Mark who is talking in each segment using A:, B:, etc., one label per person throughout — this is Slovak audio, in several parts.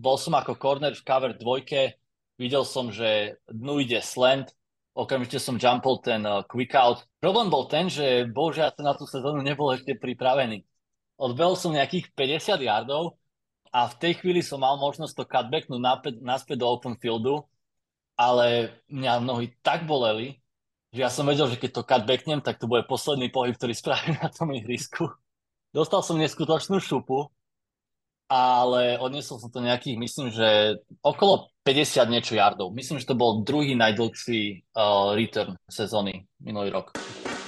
A: bol som ako corner v cover dvojke, videl som, že dnu ide slant, okamžite som jumpol ten quick out. Problém bol ten, že bohužiaľ na tú sezónu nebol ešte pripravený. Odbehol som nejakých 50 yardov a v tej chvíli som mal možnosť to cutbacknúť naspäť do open fieldu, ale mňa nohy tak boleli, že ja som vedel, že keď to cutbacknem, tak to bude posledný pohyb, ktorý spravím na tom ihrisku. Dostal som neskutočnú šupu, ale odnesol som to nejakých, myslím, že okolo 50 niečo yardov. Myslím, že to bol druhý najdlhší return sezóny minulý rok.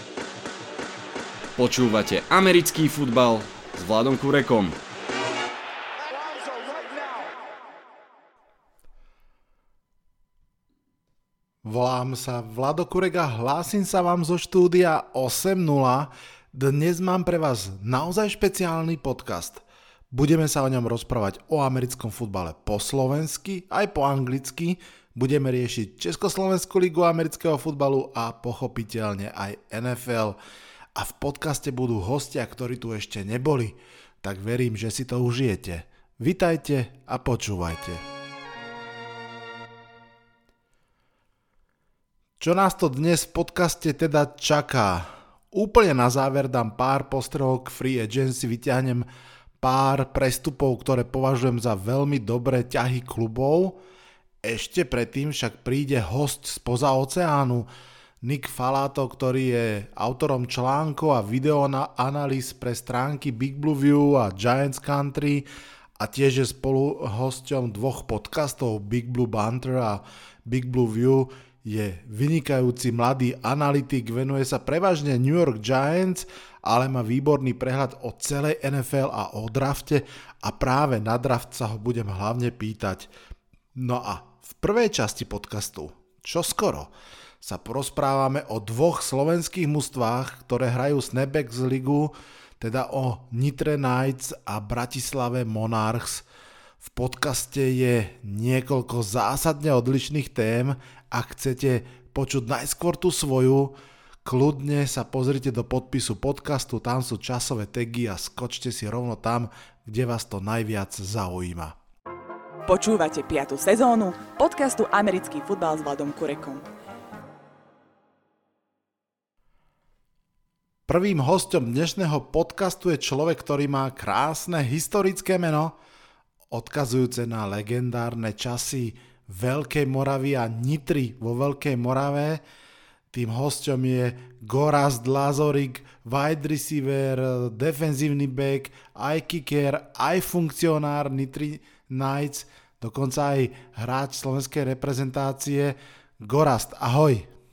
B: Počúvate americký futbal s Vladom Kurekom.
C: Volám sa Vlado Kurek a hlásim sa vám zo štúdia 8.0. Dnes mám pre vás naozaj špeciálny podcast. Budeme sa o ňom rozprávať o americkom futbale po slovensky, aj po anglicky. Budeme riešiť Československú ligu amerického futbalu a pochopiteľne aj NFL. A v podcaste budú hostia, ktorí tu ešte neboli. Tak verím, že si to užijete. Vitajte a počúvajte. Čo nás to dnes v podcaste teda čaká? Úplne na záver dám pár postrehov k free agency, vyťahnem pár prestupov, ktoré považujem za veľmi dobré ťahy klubov. Ešte predtým však príde host spoza oceánu, Nick Falato, ktorý je autorom článkov a videoanalýz pre stránky Big Blue View a Giants Country a tiež je spolu hosťom dvoch podcastov Big Blue Banter a Big Blue View. Je vynikajúci mladý analytik, venuje sa prevažne New York Giants, ale má výborný prehľad o celej NFL a o drafte a práve na draft sa ho budem hlavne pýtať. No a v prvej časti podcastu, čoskoro, sa porozprávame o dvoch slovenských mužstvách, ktoré hrajú Snapbacks ligu, teda o Nitre Knights a Bratislave Monarchs. V podcaste je niekoľko zásadne odlišných tém. Ak chcete počuť najskôr tú svoju, kľudne sa pozrite do podpisu podcastu, tam sú časové tagy a skočte si rovno tam, kde vás to najviac zaujíma.
D: Počúvate 5. sezónu podcastu Americký futbal s Vladom Kurekom.
C: Prvým hosťom dnešného podcastu je človek, ktorý má krásne historické meno, odkazujúce na legendárne časy Veľkej Moravy a Nitry vo Veľkej Morave. Tým hosťom je Gorazd Lazorik, wide receiver, defenzívny back, aj kicker, aj funkcionár Nitry Knights, dokonca aj hráč slovenskej reprezentácie. Gorazd, ahoj.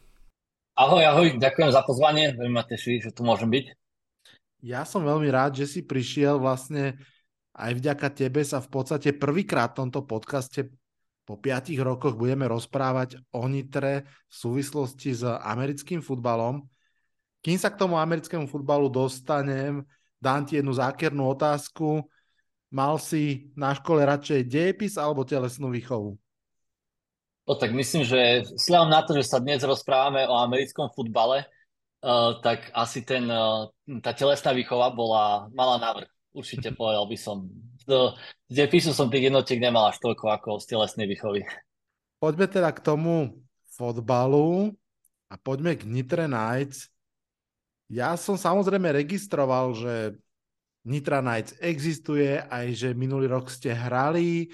A: Ahoj, ďakujem za pozvanie, veľmi ma teší, že tu môžem byť.
C: Ja som veľmi rád, že si prišiel, vlastne aj vďaka tebe sa v podstate prvýkrát v tomto podcaste po 5 rokoch budeme rozprávať o Nitre v súvislosti s americkým futbalom. Kým sa k tomu americkému futbalu dostanem, dám ti jednu zákernú otázku. Mal si na škole radšej dejepis alebo telesnú výchovu?
A: No tak myslím, že vzhľadom na to, že sa dnes rozprávame o americkom futbale, tak asi tá telesná výchova mala návrh. Určite povedal by som. Z dejepisu som tých jednotiek nemal až toľko ako z telesnej výchovy.
C: Poďme teda k tomu fotbalu a poďme k Nitre Knights. Ja som samozrejme registroval, že Nitra Knights existuje, aj že minulý rok ste hrali,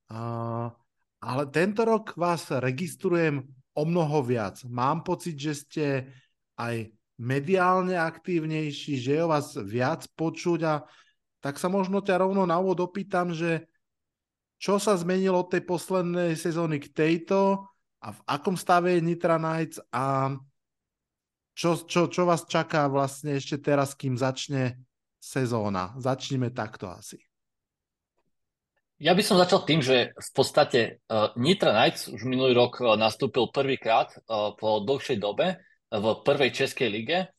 C: ale tento rok vás registrujem o mnoho viac. Mám pocit, že ste aj mediálne aktívnejší, že je o vás viac počuť a tak sa možno ťa rovno na úvod opýtam, že čo sa zmenilo od tej poslednej sezóny k tejto a v akom stave je Nitra Knights a čo vás čaká vlastne ešte teraz, kým začne sezóna. Začneme takto asi.
A: Ja by som začal tým, že v podstate Nitra Knights už minulý rok nastúpil prvýkrát po dlhšej dobe v prvej českej lige.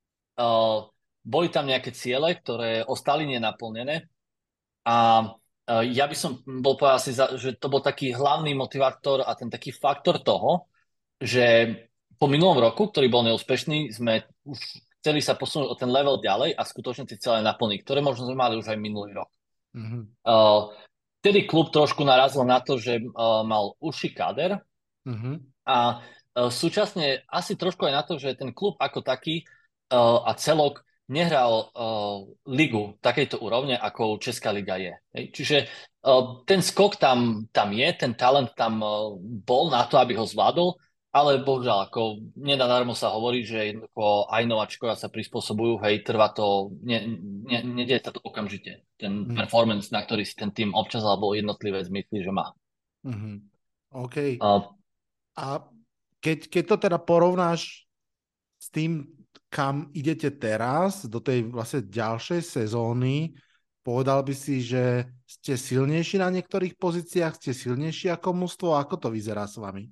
A: Boli tam nejaké ciele, ktoré ostali nenaplnené a ja by som bol povedal asi, že to bol taký hlavný motivátor a ten taký faktor toho, že po minulom roku, ktorý bol neúspešný, sme už chceli sa posunúť o ten level ďalej a skutočne tie ciele naplniť, ktoré možno sme mali už aj minulý rok. Mm-hmm. vtedy klub trošku narazil na to, že mal užší káder
C: Mhm.
A: a súčasne asi trošku aj na to, že ten klub ako taký a celok nehral ligu takejto úrovne, ako Česká liga je. Hej. Čiže ten skok tam je, ten talent tam bol na to, aby ho zvládol, ale bohužiaľ, ako nenadarmo sa hovorí, že jednoducho aj nováčkovia sa prispôsobujú, hej, trvá to, nedieje sa to okamžite. Ten
C: Mhm.
A: performance, na ktorý si ten tým občas alebo jednotlivé zmyslí, že má.
C: Mhm. OK.
A: Uh,
C: A keď to teda porovnáš s tým, kam idete teraz, do tej vlastne ďalšej sezóny, povedal by si, že ste silnejší na niektorých pozíciách, ste silnejší ako mužstvo, ako to vyzerá s vami?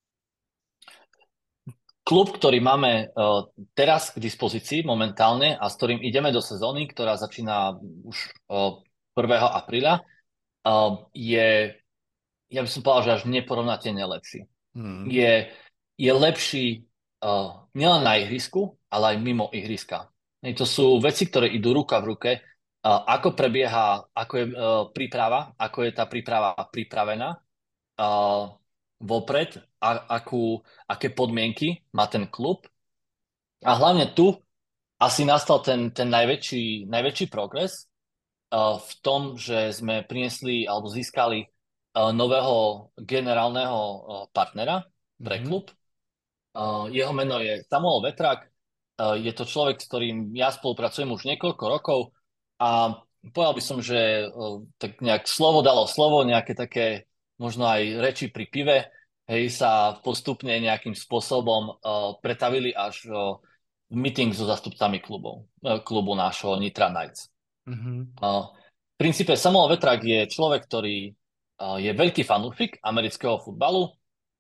A: Klub, ktorý máme teraz k dispozícii momentálne a s ktorým ideme do sezóny, ktorá začína už 1. apríla, je, ja by som povedal, že až neporovnateľne lepší.
C: Hmm.
A: Je lepší nielen na ihrisku, ale aj mimo ihriska. To sú veci, ktoré idú ruka v ruke. Ako prebieha, ako je príprava, ako je tá príprava pripravená vopred, aké podmienky má ten klub. A hlavne tu asi nastal ten najväčší progres v tom, že sme priniesli alebo získali nového generálneho partnera pre
C: Mhm.
A: klub. Jeho meno je Samuel Vetrak. Je to človek, s ktorým ja spolupracujem už niekoľko rokov a povedal by som, že tak nejak slovo dalo slovo, nejaké také možno aj reči pri pive, hej, sa postupne nejakým spôsobom pretavili až v meeting so zastupcami klubu nášho Nitra Knights.
C: Mhm.
A: V princípe Samuel Vetrak je človek, ktorý je veľký fanúšik amerického futbalu,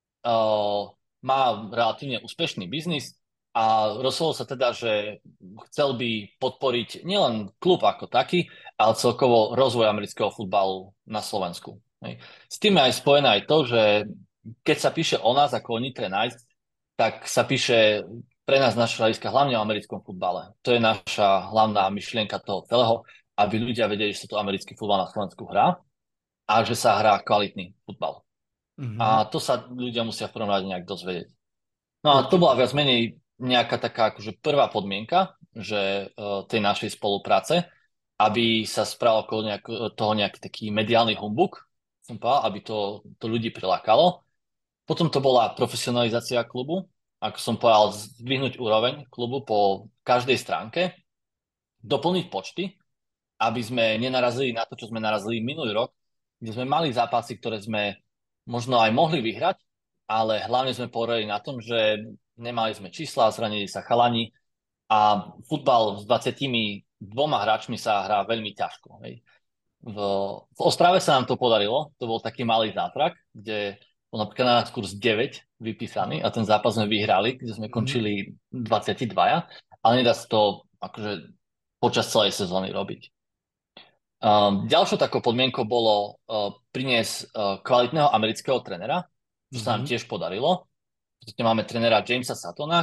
A: má relatívne úspešný biznis a rozhodol sa teda, že chcel by podporiť nielen klub ako taký, ale celkovo rozvoj amerického futbalu na Slovensku. Hej. S tým je aj spojené aj to, že keď sa píše o nás ako o Nitre Knights, tak sa píše pre nás z našho hľadiska hlavne o americkom futbale. To je naša hlavná myšlienka toho celého, aby ľudia vedeli, že sa tu americký futbal na Slovensku hrá a že sa hrá kvalitný futbal.
C: Mhm.
A: A to sa ľudia musia v prvom rade nejak dozvedieť. No a to bola
C: Určite.
A: viac menej nejaká taká akože prvá podmienka, že tej našej spolupráce, aby sa spravil okolo toho nejaký taký mediálny humbuk, som povedal, aby to ľudí prilákalo. Potom to bola profesionalizácia klubu, ako som povedal, zdvihnúť úroveň klubu po každej stránke, doplniť počty, aby sme nenarazili na to, čo sme narazili minulý rok, kde sme mali zápasy, ktoré sme možno aj mohli vyhrať, ale hlavne sme poreli na tom, že nemali sme čísla, zranili sa chalani a futbal s 22 hráčmi sa hrá veľmi ťažko. Hej. V Ostrave sa nám to podarilo, to bol taký malý zázrak, kde bol napríklad na nás kurz 9 vypísaný a ten zápas sme vyhrali, kde sme
C: Mhm.
A: končili 22, ale nedá sa to akože počas celej sezóny robiť. Ďalšou takou podmienkou bolo priniesť kvalitného amerického trenera, čo sa nám
C: Mhm.
A: tiež podarilo. Máme trenera Jamesa Satona,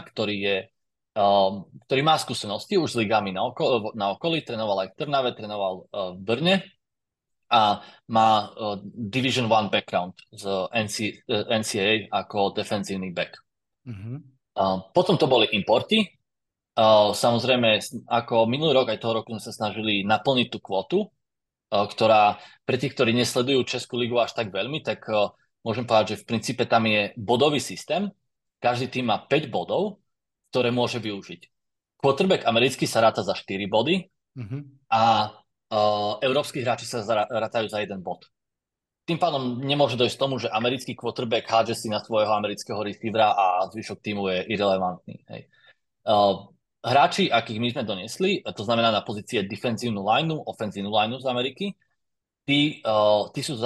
A: ktorý má skúsenosti už s ligami na okolí, trénoval aj v Trnave, trénoval v Brne a má Division 1 background z NCAA ako defenzívny back.
C: Mhm.
A: Potom to boli importy. Samozrejme, ako minulý rok, aj toho roku sme sa snažili naplniť tú kvotu, ktorá pre tých, ktorí nesledujú Českú ligu až tak veľmi, tak môžem povedať, že v princípe tam je bodový systém. Každý tým má 5 bodov, ktoré môže využiť. Quarterback americký sa ráta za 4 body
C: Mhm.
A: a európski hráči sa rátajú za 1 bod. Tým pádom nemôže dojsť k tomu, že americký quarterback hádže si na svojho amerického receivera a zvyšok týmu je irrelevantný. Hej. Hráči, akých my sme donesli, to znamená na pozície defenzívnu lineu, ofenzívnu lineu z Ameriky, tí sú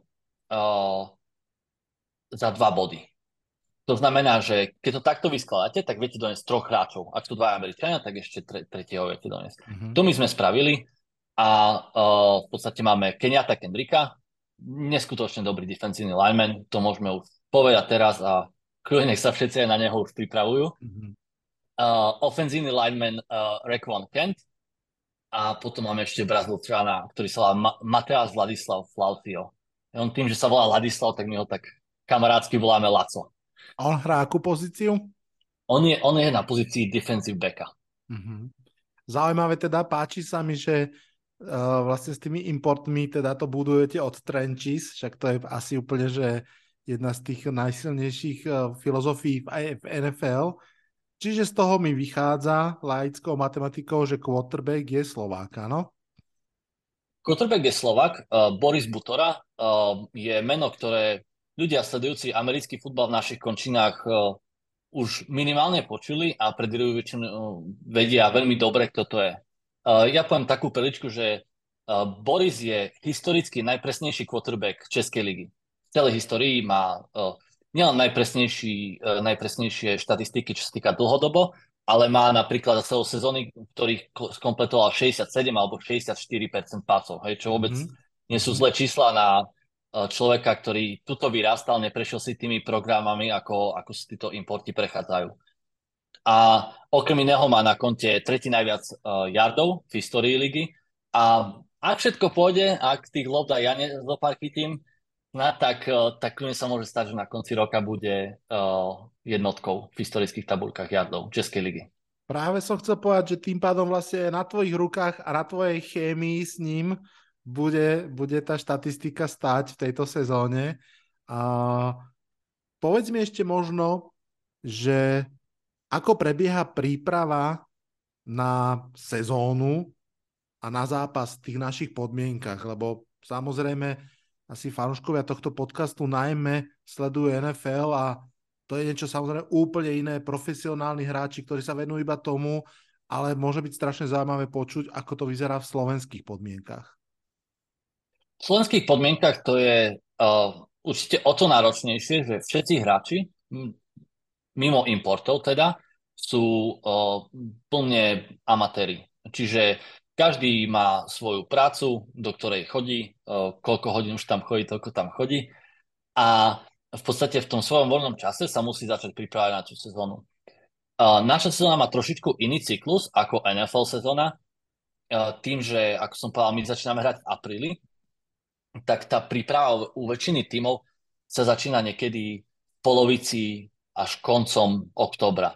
A: za 2 body. To znamená, že keď to takto vyskladáte, tak viete doniesť 3 hráčov. Ak sú 2 Američania, tak ešte tretieho viete doniesť.
C: Mhm.
A: To my sme spravili a v podstate máme Kenyatta Kendricka, neskutočne dobrý defensívny lineman, to môžeme už povedať teraz a kľudne nech sa všetci aj na neho už pripravujú.
C: Mhm.
A: Ofenzívny lineman Raekwon Kent A potom máme ešte Brazílčana, ktorý sa volá Mateus Ladislav Flautio. On tým, že sa volá Ladislav, tak my ho tak kamarátsky voláme Laco.
C: A on hrá akú pozíciu?
A: On je na pozícii defensive backa.
C: Mhm. Zaujímavé teda, páči sa mi, že vlastne s tými importmi teda to budujete od trenches, však to je asi úplne, že jedna z tých najsilnejších filozofií v NFL. Čiže z toho mi vychádza laickou matematikou, že quarterback je Slovák, áno?
A: Quarterback je Slovak, Boris Butora je meno, ktoré ľudia sledujúci americký futbal v našich končinách už minimálne počuli a predvídajú väčšinu vedia veľmi dobre, kto to je. Ja poviem takú perličku, že Boris je historicky najpresnejší quarterback Českej ligy. V celej histórii má nielen najpresnejšie štatistiky, čo sa týka dlhodobo, ale má napríklad za celú sezóny, v ktorých skompletoval 67 alebo 64% pasov, hej, čo vôbec nie sú zlé čísla na človeka, ktorý tuto vyrastal, neprešiel si tými programami, ako si títo importy prechádzajú. A okrem iného má na konte tretí najviac yardov v histórii ligy. A ak všetko pôjde, ak tých lob aj ja zopár chytím, tak kľudne sa môže stať, že na konci roka bude jednotkou v historických tabuľkách yardov Českej ligy.
C: Práve som chcel povedať, že tým pádom vlastne na tvojich rukách a na tvojej chémii s ním bude tá štatistika stáť v tejto sezóne. A povedz mi ešte možno, že ako prebieha príprava na sezónu a na zápas v tých našich podmienkach, lebo samozrejme asi fanúškovia tohto podcastu najmä sledujú NFL a to je niečo samozrejme úplne iné, profesionálni hráči, ktorí sa venujú iba tomu, ale môže byť strašne zaujímavé počuť, ako to vyzerá v slovenských podmienkach.
A: V slovenských podmienkach to je určite o to náročnejšie, že všetci hráči, mimo importov teda, sú plne amatéri. Čiže každý má svoju prácu, do ktorej chodí, koľko hodín už tam chodí, toľko tam chodí. A v podstate v tom svojom voľnom čase sa musí začať pripravať na tú sezónu. Naša sezóna má trošičku iný cyklus ako NFL sezóna, tým, že, ako som povedal, my začíname hrať v apríli, tak tá príprava u väčšiny tímov sa začína niekedy v polovici až koncom októbra.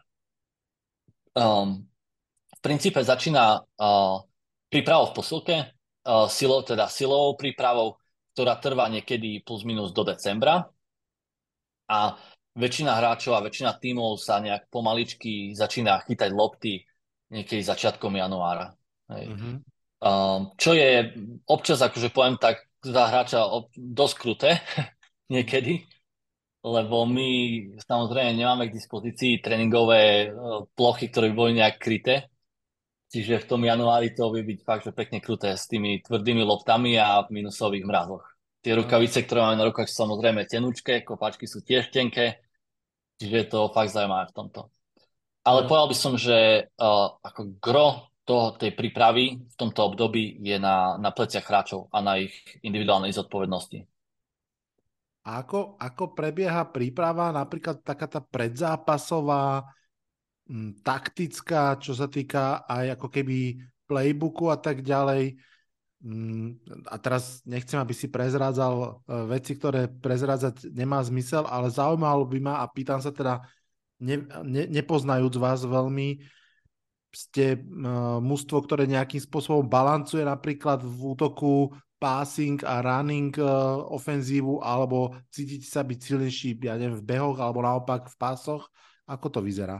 A: V princípe začína prípravou v posilke, silovou prípravou, ktorá trvá niekedy plus minus do decembra. A väčšina hráčov a väčšina tímov sa nejak pomaličky začína chytať lopty niekedy začiatkom januára. Mm-hmm. Čo je občas, akože poviem tak, za hráča dosť kruté niekedy, lebo my samozrejme nemáme k dispozícii tréningové plochy, ktoré by boli nejak kryté. Čiže v tom januári to vie byť fakt, že pekne kruté s tými tvrdými loptami a v minusových mrazoch. Tie rukavice, ktoré máme na rukách, sú samozrejme tenučké, kopačky sú tiež tenké, čiže je to fakt zaujímavé v tomto. Ale povedal by som, že ako gro tej prípravy v tomto období je na pleciach hráčov a na ich individuálnej zodpovednosti.
C: A ako prebieha príprava, napríklad taká tá predzápasová, taktická, čo sa týka aj ako keby playbooku a tak ďalej. A teraz nechcem, aby si prezrádzal veci, ktoré prezrádzať nemá zmysel, ale zaujímalo by ma a pýtam sa teda, nepoznajúc vás veľmi, ste mužstvo, ktoré nejakým spôsobom balancuje napríklad v útoku passing a running ofenzívu, alebo cítite sa byť silnejší, ja neviem, v behoch, alebo naopak v pásoch? Ako to vyzerá?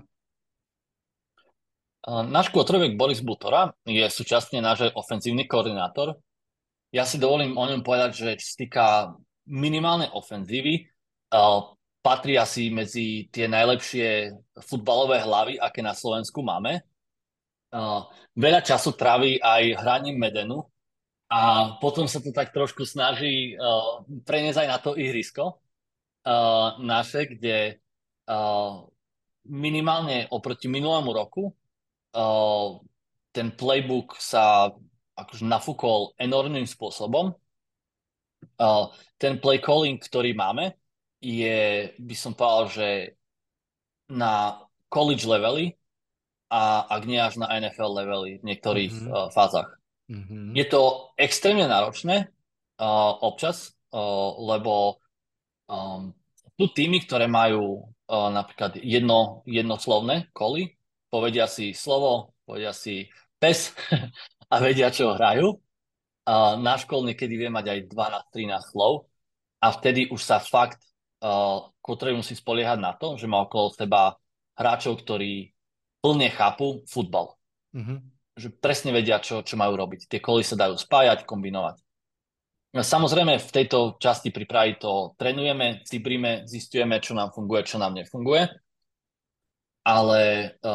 A: Náš quarterback Boris Butora je súčasne náš ofenzívny koordinátor. Ja si dovolím o ňom povedať, že čo sa týka minimálnej ofenzívy, patrí asi medzi tie najlepšie futbalové hlavy, aké na Slovensku máme. Veľa času trávi aj hraním Medenu a potom sa to tak trošku snaží preniesť aj na to ihrisko naše, kde minimálne oproti minulému roku ten playbook sa akože nafúkol enormným spôsobom. Ten play calling, ktorý máme, je, by som povedal, že na college levely a ak nie až na NFL levely v niektorých fázach.
C: Mhm.
A: Je to extrémne náročné občas, lebo um, sú týmy, ktoré majú napríklad jednoslovné koly, povedia si slovo, povedia si pes a vedia, čo hrajú. Náš kol niekedy vie mať aj 12-13 slov a vtedy už sa fakt Kotrej musí spoliehať na to, že má okolo seba hráčov, ktorí plne chápu futbal.
C: Mhm.
A: Že presne vedia, čo majú robiť. Tie koly sa dajú spájať, kombinovať. No, samozrejme, v tejto časti prípravy to trénujeme, cibríme, zistujeme, čo nám funguje, čo nám nefunguje, ale,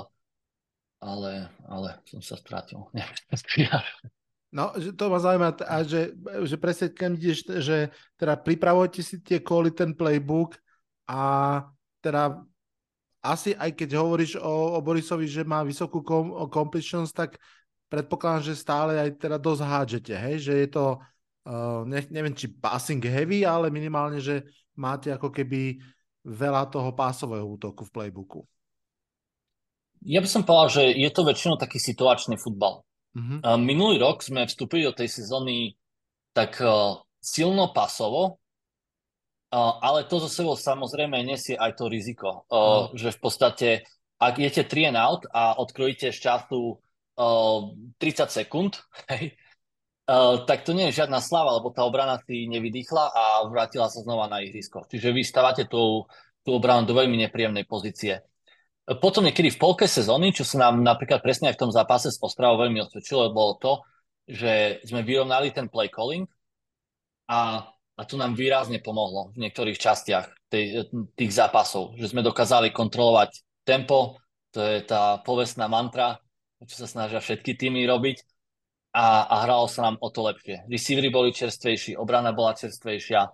A: ale som sa strátil.
C: No, že to ma zaujíma, že presne keď ideš, že teda pripravujete si tie kvôli ten playbook a teda asi aj keď hovoríš o Borisovi, že má vysokú completions, tak predpokladám, že stále aj teda dosť hádžete, hej? Že je to, neviem, či passing heavy, ale minimálne, že máte ako keby veľa toho pásového útoku v playbooku.
A: Ja by som povedal, že je to väčšinou taký situačný futbal.
C: Mhm.
A: Minulý rok sme vstúpili do tej sezóny tak silno pasovo, ale to zo sebou samozrejme nesie aj to riziko,
C: Áno.
A: že v podstate, ak idete 3 and out a odkrojíte z času 30 sekúnd, hej, tak to nie je žiadna sláva, lebo tá obrana si nevydýchla a vrátila sa znova na ihrisko. Čiže vy stávate tú obranu do veľmi nepríjemnej pozície. Potom niekedy v polke sezóny, čo sa nám napríklad presne aj v tom zápase s Ostravou veľmi osvedčilo, bolo to, že sme vyrovnali ten play calling a to nám výrazne pomohlo v niektorých častiach tých zápasov, že sme dokázali kontrolovať tempo, to je tá povestná mantra, čo sa snažia všetky týmy robiť a hralo sa nám o to lepšie. Receivery boli čerstvejší, obrana bola čerstvejšia,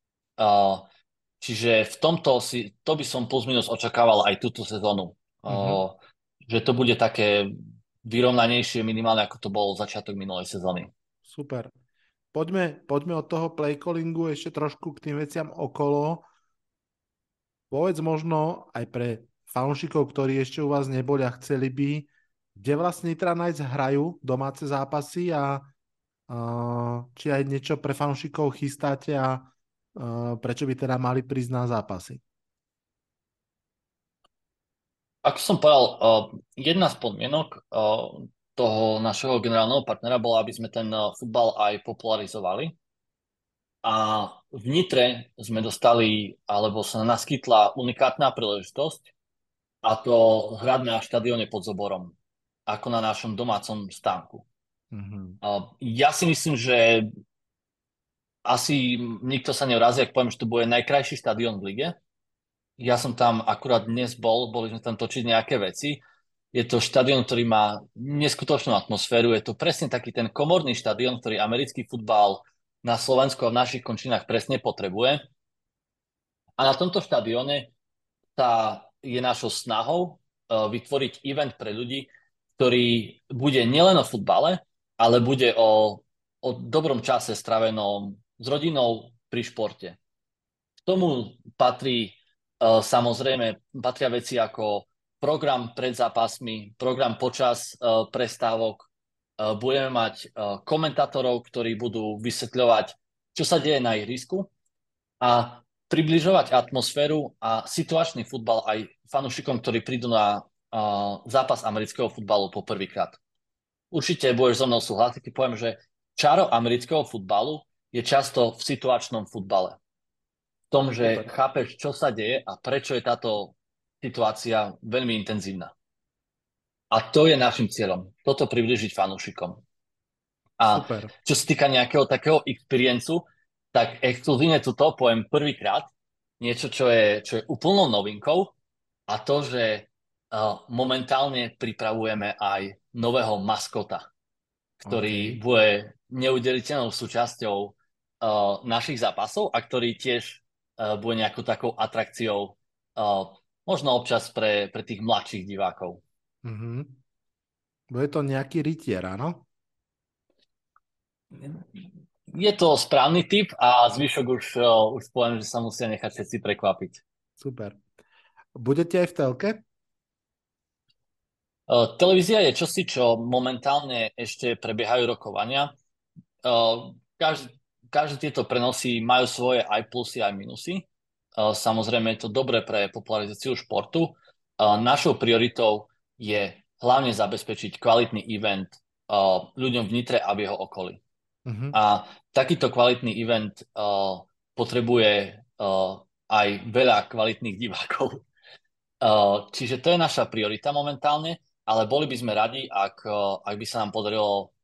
A: čiže v tomto to by som plus minus očakával aj túto sezónu.
C: Mhm.
A: Že to bude také vyrovnanejšie minimálne ako to bolo začiatok minulej sezóny.
C: Super. Poďme od toho playcallingu ešte trošku k tým veciam okolo. Povedz možno aj pre fanúšikov, ktorí ešte u vás neboli a chceli by, kde vlastne Nitra Knights hrajú domáce zápasy a či aj niečo pre fanúšikov chystáte a prečo by teda mali prísť na zápasy.
A: Ako som povedal, jedna z podmienok toho našeho generálneho partnera bola, aby sme ten futbal aj popularizovali. A v Nitre sme dostali, alebo sa naskytla unikátna príležitosť, a to hrať na štadióne pod Zoborom, ako na našom domácom stánku.
C: Mhm.
A: Ja si myslím, že asi nikto sa neurazí, ak poviem, že to bude najkrajší štadión v lige. Ja som tam akurát dnes boli sme tam točiť nejaké veci. Je to štadión, ktorý má neskutočnú atmosféru. Je to presne taký ten komorný štadión, ktorý americký futbal na Slovensku a v našich končinách presne potrebuje. A na tomto štadióne je našou snahou vytvoriť event pre ľudí, ktorý bude nielen o futbale, ale bude o dobrom čase strávenom s rodinou pri športe. K tomu samozrejme patria veci ako program pred zápasmi, program počas prestávok. Budeme mať komentátorov, ktorí budú vysvetľovať, čo sa deje na ihrisku a približovať atmosféru a situačný futbal aj fanúšikom, ktorí prídu na zápas amerického futbalu po prvýkrát. Určite budeš so mnou súhlasiť, keď poviem, že čaro amerického futbalu je často v situačnom futbale. V tom, že
C: Super.
A: chápeš, čo sa deje a prečo je táto situácia veľmi intenzívna. A to je našim cieľom. Toto približiť fanúšikom. A
C: Super.
A: čo sa týka nejakého takého experiencu, tak exkluzívne tuto poviem prvýkrát niečo, čo je úplnou novinkou a to, že momentálne pripravujeme aj nového maskota, ktorý
C: OK.
A: bude neudeliteľnou súčasťou našich zápasov a ktorý tiež bude nejakou takou atrakciou možno občas pre tých mladších divákov.
C: Mhm. Bude to nejaký rytier, áno?
A: Je to správny typ a zvyšok už poviem, že sa musia nechať všetci prekvapiť.
C: Super. Budete aj v telke?
A: Televízia je čosi, čo momentálne ešte prebiehajú rokovania. Každý, každé tieto prenosy majú svoje aj plusy, aj minusy. Samozrejme je to dobré pre popularizáciu športu. Našou prioritou je hlavne zabezpečiť kvalitný event ľuďom v Nitre a v jeho okolí.
C: Mhm.
A: A takýto kvalitný event potrebuje aj veľa kvalitných divákov. Čiže to je naša priorita momentálne, ale boli by sme radi, ak by sa nám podarilo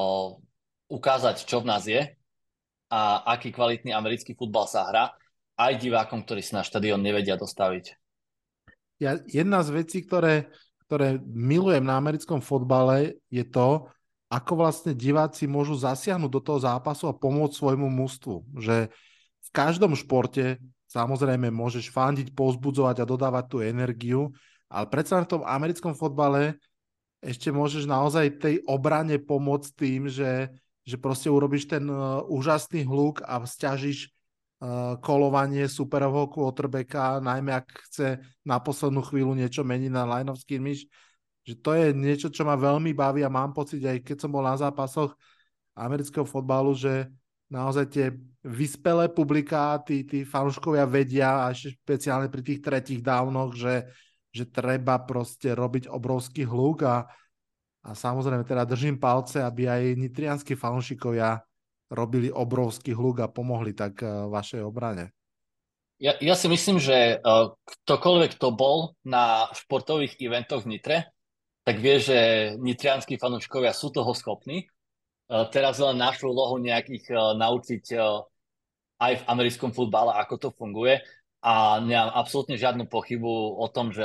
A: ukázať, čo v nás je a aký kvalitný americký futbal sa hrá aj divákom, ktorí si na štadión nevedia dostaviť.
C: Jedna z vecí, ktoré milujem na americkom fotbale, je to, ako vlastne diváci môžu zasiahnuť do toho zápasu a pomôcť svojmu mužstvu. Že v každom športe samozrejme môžeš fandiť, povzbudzovať a dodávať tú energiu, ale predsa v tom americkom fotbale ešte môžeš naozaj tej obrane pomôcť tým, že proste urobíš ten úžasný hluk a sťažíš kolovanie superového quarterbacka, najmä ak chce na poslednú chvíľu niečo meniť na line of scrimmage, že to je niečo, čo ma veľmi baví a mám pocit, aj keď som bol na zápasoch amerického fotbalu, že naozaj tie vyspelé publiká, tí fanúškovia vedia, a ešte špeciálne pri tých tretích downoch, že treba proste robiť obrovský hluk a samozrejme teda držím palce, aby aj nitrianskí fanúšikovia robili obrovský hluk a pomohli tak vašej obrane.
A: Ja si myslím, že ktokoľvek to bol na športových eventoch v Nitre, tak vie, že nitrianskí fanúškovia sú toho schopní. Teraz len našu úlohu nejakých naučiť aj v americkom futbale, ako to funguje. A nemám absolútne žiadne pochyby o tom,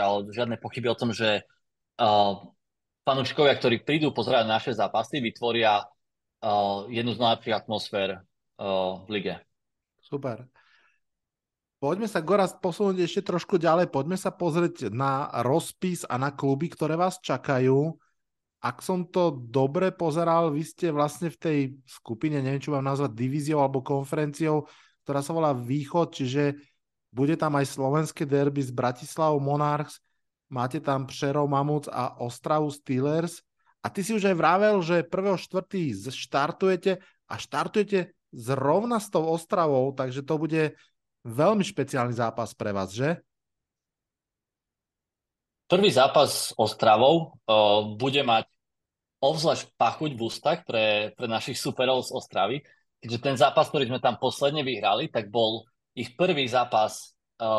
A: že fanúškovia, ktorí prídu pozerať naše zápasy, vytvoria jednu z najlepších atmosfér v lige.
C: Super. Poďme sa, Gorazd, posunúť ešte trošku ďalej. Poďme sa pozrieť na rozpis a na kluby, ktoré vás čakajú. Ak som to dobre pozeral, vy ste vlastne v tej skupine, neviem, čo mám nazvať, divíziou alebo konferenciou, ktorá sa volá Východ, čiže bude tam aj slovenské derby s Bratislavou Monarchs, máte tam Přerov Mamúc a Ostravu Steelers. A ty si už aj vravel, že 1.4. štartujete zrovna s tou Ostravou, takže to bude veľmi špeciálny zápas pre vás, že?
A: Prvý zápas s Ostravou bude mať obzvlášť pachuť v ústach pre našich superov z Ostravy, keďže ten zápas, ktorý sme tam posledne vyhrali, tak bol ich prvý zápas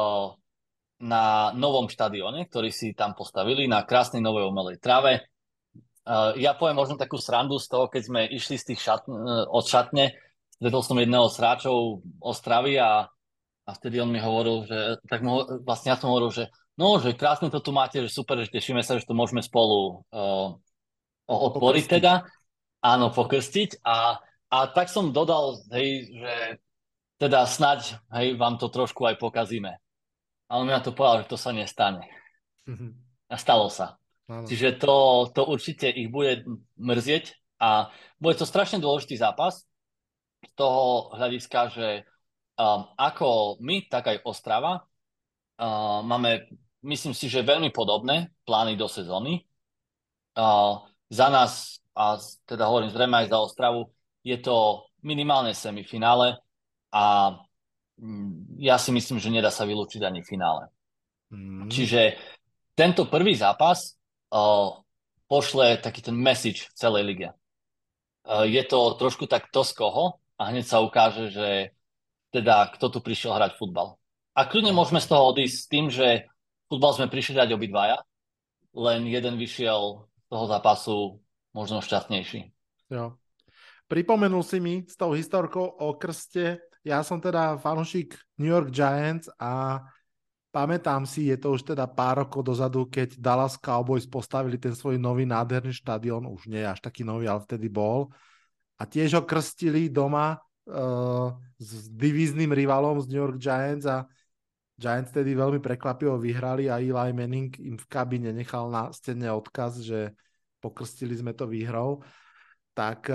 A: na novom štadióne, ktorý si tam postavili, na krásnej novej umelej trave. Ja poviem možno takú srandu z toho, keď sme išli z tých od šatne, stretol som jedného z hráčov Ostravy a vtedy on mi hovoril, že vlastne ja som hovoril, že no, že krásne to tu máte, že super, že tešíme sa, že to môžeme spolu otvoriť teda. Áno, pokrstiť. A tak som dodal, hej, že teda snaď, hej, vám to trošku aj pokazíme. A on mi na to povedal, že to sa nestane. A stalo sa. Áno. Čiže to určite ich bude mrzieť a bude to strašne dôležitý zápas z toho hľadiska, že ako my, tak aj Ostrava máme, myslím si, že veľmi podobné plány do sezóny. Za nás, a teda hovorím zrejme aj za Ostravu, je to minimálne semifinále a ja si myslím, že nedá sa vylúčiť ani finále. Čiže tento prvý zápas pošle taký ten message v celej lige. Je to trošku tak to z koho a hneď sa ukáže, že teda kto tu prišiel hrať futbal. A kľudne môžeme z toho odísť s tým, že futbal sme prišli hrať obidvaja, len jeden vyšiel z toho zápasu možno šťastnejší.
C: Jo. Pripomenul si mi s tou historkou o krste. Ja som teda fanúšik New York Giants a pamätám si, je to už teda pár rokov dozadu, keď Dallas Cowboys postavili ten svoj nový nádherný štadión, už nie až taký nový, ale vtedy bol. A tiež ho krstili doma s divízným rivalom z New York Giants a Giants tedy veľmi prekvapivo vyhrali a Eli Manning im v kabíne nechal na stene odkaz, že pokrstili sme to výhrou. Tak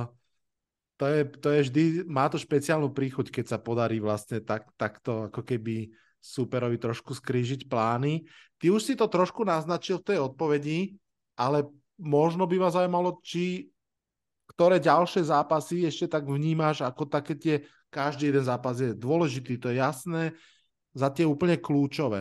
C: to je vždy, má to špeciálnu príchuť, keď sa podarí vlastne takto ako keby superovi trošku skrížiť plány. Ty už si to trošku naznačil v tej odpovedi, ale možno by ma zaujímalo, ktoré ďalšie zápasy ešte tak vnímaš, ako také tie, každý jeden zápas je dôležitý, to je jasné, za tie úplne kľúčové.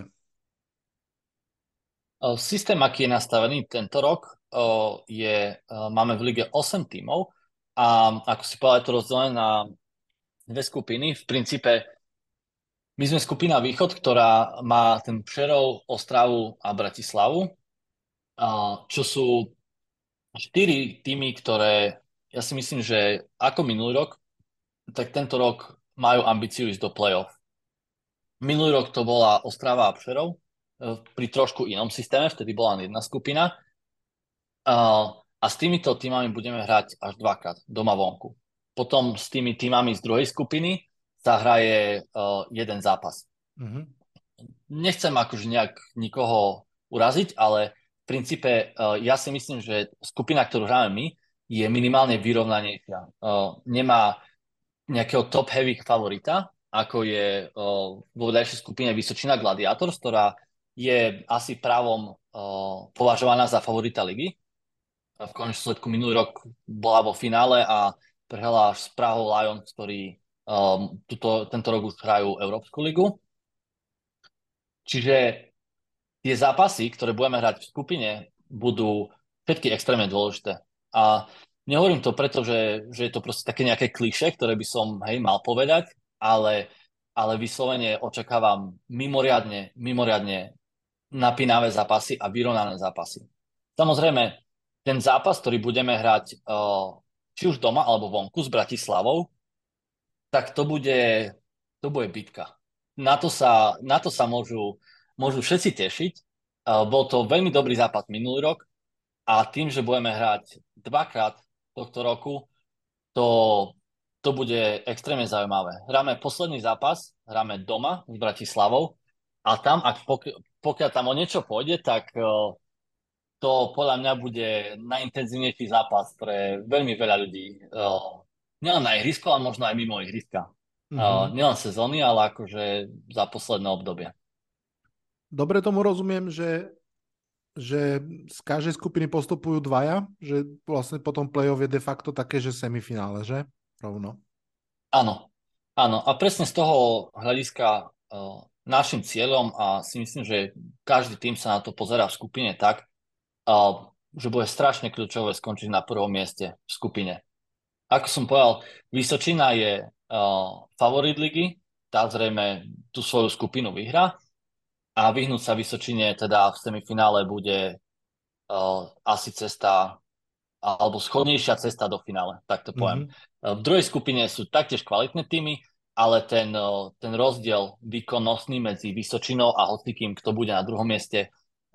A: Systém, aký je nastavený tento rok, máme v lige 8 tímov a ako si povedal, je to rozdelené na dve skupiny. V princípe my sme skupina Východ, ktorá má ten Přerov, Ostravu a Bratislavu, čo sú 4 týmy, ktoré ja si myslím, že ako minulý rok, tak tento rok majú ambíciu ísť do play-off. Minulý rok to bola Ostrava a Přerov, pri trošku inom systéme, vtedy bola len jedna skupina. A s týmito týmami budeme hrať až dvakrát, doma vonku. Potom s tými týmami z druhej skupiny sa hraje jeden zápas.
C: Mm-hmm.
A: Nechcem akože nejak nikoho uraziť, ale v princípe ja si myslím, že skupina, ktorú hráme my, je minimálne vyrovnanejšia. Nemá nejakého top-heavy favorita, ako je vo vedľajšej skupine Vysočina Gladiators, ktorá je asi právom považovaná za favorita ligy. V konečnom sledku minulý rok bola vo finále a prehrala až s Prahou Lions, ktorí tento rok už hrajú Európsku ligu. Čiže tie zápasy, ktoré budeme hrať v skupine, budú všetky extrémne dôležité. A nehovorím to preto, že je to proste také nejaké klišé, ktoré by som mal povedať, ale vyslovene očakávam mimoriadne napínavé zápasy a vyrovnané zápasy. Samozrejme, ten zápas, ktorý budeme hrať či už doma alebo vonku s Bratislavou, tak to bude bitka. Na to sa môžu všetci tešiť. Bol to veľmi dobrý zápas minulý rok a tým, že budeme hrať dvakrát tohto roku, to bude extrémne zaujímavé. Hráme posledný zápas, hráme doma s Bratislavou a tam, pokiaľ tam o niečo pôjde, tak to podľa mňa bude najintenzívnejší zápas pre veľmi veľa ľudí. Nielen na ihrisko, ale možno aj mimo ihriska. Mm-hmm. Nielen sezóny, ale akože za posledné obdobie.
C: Dobre tomu rozumiem, že z každej skupiny postupujú dvaja, že vlastne potom play-off je de facto také, že semifinále, že? Rovno.
A: Áno. A presne z toho hľadiska našim cieľom a si myslím, že každý tým sa na to pozerá v skupine tak, že bude strašne kľúčové skončiť na prvom mieste v skupine. Ako som povedal, Vysočina je favorit ligy, tá zrejme tú svoju skupinu vyhrá a vyhnúť sa Vysočine teda v semifinále bude asi cesta alebo schodnejšia cesta do finále, tak to poviem. V druhej skupine sú taktiež kvalitné týmy, ale ten rozdiel výkonnostný medzi Vysočinou a hocikým, kto bude na druhom mieste,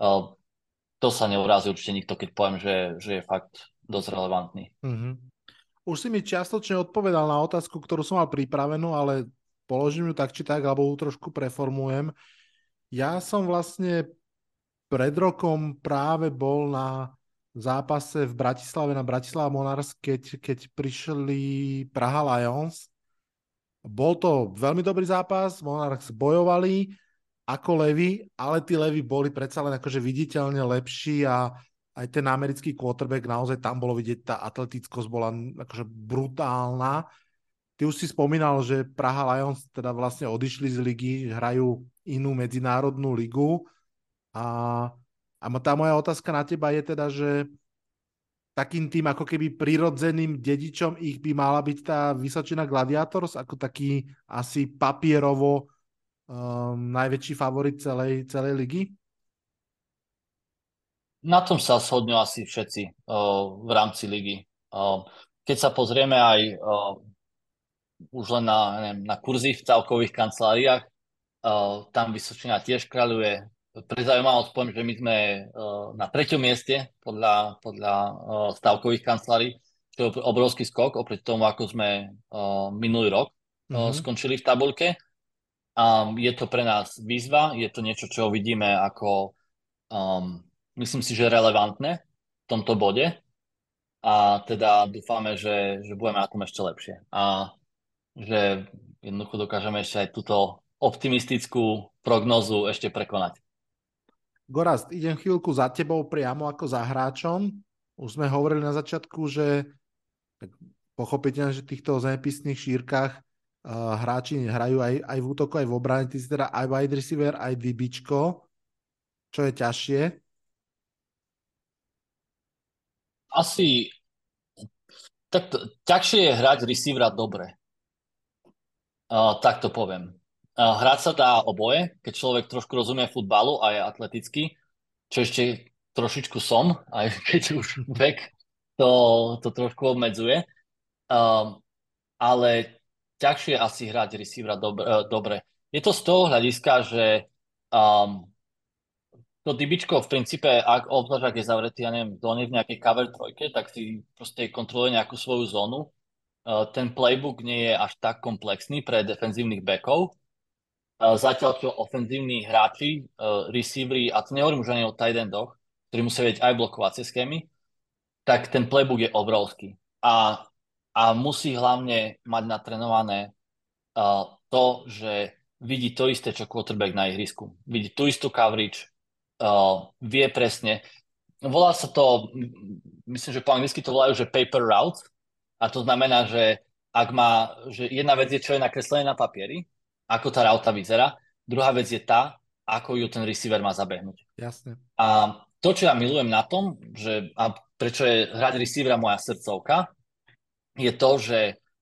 A: to sa neurazí určite nikto, keď poviem, že je fakt dosť relevantný.
C: Mm-hmm. Už si mi čiastočne odpovedal na otázku, ktorú som mal pripravenú, ale položím ju tak či tak, alebo ju trošku preformujem. Ja som vlastne pred rokom práve bol na zápase v Bratislave na Bratislava Monarchs, keď prišli Praha Lions. Bol to veľmi dobrý zápas, Monarchs bojovali ako levy, ale tí levy boli predsa len akože viditeľne lepší a aj ten americký quarterback, naozaj tam bolo vidieť, tá atletickosť bola akože brutálna. Ty už si spomínal, že Praha Lions teda vlastne odišli z ligy, hrajú inú medzinárodnú ligu a tá moja otázka na teba je teda, že takým tým ako keby prirodzeným dedičom ich by mala byť tá Vysočina Gladiators ako taký asi papierovo najväčší favorit celej ligy?
A: Na tom sa shodnú asi všetci v rámci ligy. Keď sa pozrieme aj už len na kurzy v celkových kanceláriách, tam Vysočina tiež kráľuje. Pre zaujímavosť poviem, že my sme na 3. mieste podľa stavkových kancelárií, čo je obrovský skok oproti tomu, ako sme minulý rok skončili v tabuľke. Je to pre nás výzva, je to niečo, čo vidíme ako myslím si, že relevantné v tomto bode a teda dúfame, že budeme na tom ešte lepšie a že jednoducho dokážeme ešte aj túto optimistickú prognozu ešte prekonať.
C: Gorazd, idem chvíľku za tebou priamo ako za hráčom. Už sme hovorili na začiatku, že tak pochopiteľne, že v týchto zemepisných šírkach hráči hrajú aj v útoku, aj v obrane. Ty si teda aj wide receiver, aj DBčko. Čo je ťažšie?
A: Asi tak ťažšie je hrať receivera dobre. Tak to poviem. Hrať sa dá oboje, keď človek trošku rozumie futbalu a je atletický, čo ešte trošičku som, aj keď už vek to trošku obmedzuje. Um, ale ťažšie asi hrať receivera dobre. Je to z toho hľadiska, že um, to dybičko v princípe, obzvlášť ak je zavretý, ja neviem, zóne v nejakej cover trojke, tak si proste kontroluje nejakú svoju zónu. Ten playbook nie je až tak komplexný pre defenzívnych backov. Zatiaľ, čo ofenzívni hráči, receivery, a to nehovorím už ani o tight endoch, ktorí musia vedieť aj blokovacie schémy, tak ten playbook je obrovský. A musí hlavne mať natrenované to, že vidí to isté, čo quarterback na ihrisku. Vidí tú istú coverage, vie presne. Volá sa to, myslím, že po anglicky to volajú, že paper route. A to znamená, že že jedna vec je, čo je nakreslené na papieri, ako tá rauta vyzerá. Druhá vec je tá, ako ju ten receiver má zabehnúť.
C: Jasne.
A: A to, čo ja milujem na tom, a prečo je hrať receivera moja srdcovka, je to, že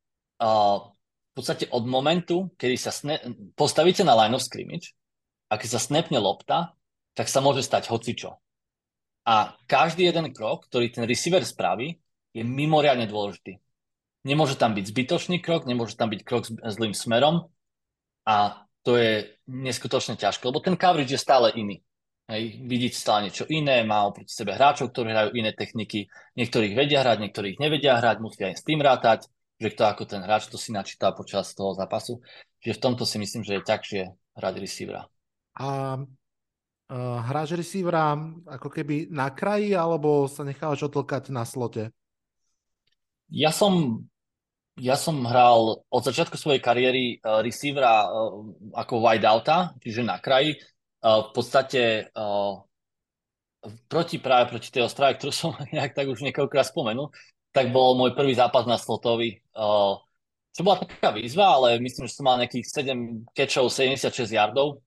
A: v podstate od momentu, kedy sa postavíte na line of scrimmage a keď sa snapne lopta, tak sa môže stať hocičo. A každý jeden krok, ktorý ten receiver spraví, je mimoriadne dôležitý. Nemôže tam byť zbytočný krok, nemôže tam byť krok zlým smerom a to je neskutočne ťažké, lebo ten coverage je stále iný. Hej, vidíte stále niečo iné, má oproti sebe hráčov, ktorí hrajú iné techniky, niektorých vedia hrať, niektorých nevedia hrať, musia aj s tým rátať, že kto ako ten hráč to si načíta počas toho zápasu. Čiže v tomto si myslím, že je ťažšie hrať receivera.
C: A hráš receivera ako keby na kraji, alebo sa nechávaš otlkať na slote?
A: Ja som hral od začiatku svojej kariéry receivera ako wideouta, čiže na kraji. V podstate práve proti tej Ostrave, ktorú som nejak tak už niekoľkokrát spomenul, tak bol môj prvý zápas na slotovi. Čo bola taká výzva, ale myslím, že som mal nejakých 7 catchov, 76 yardov,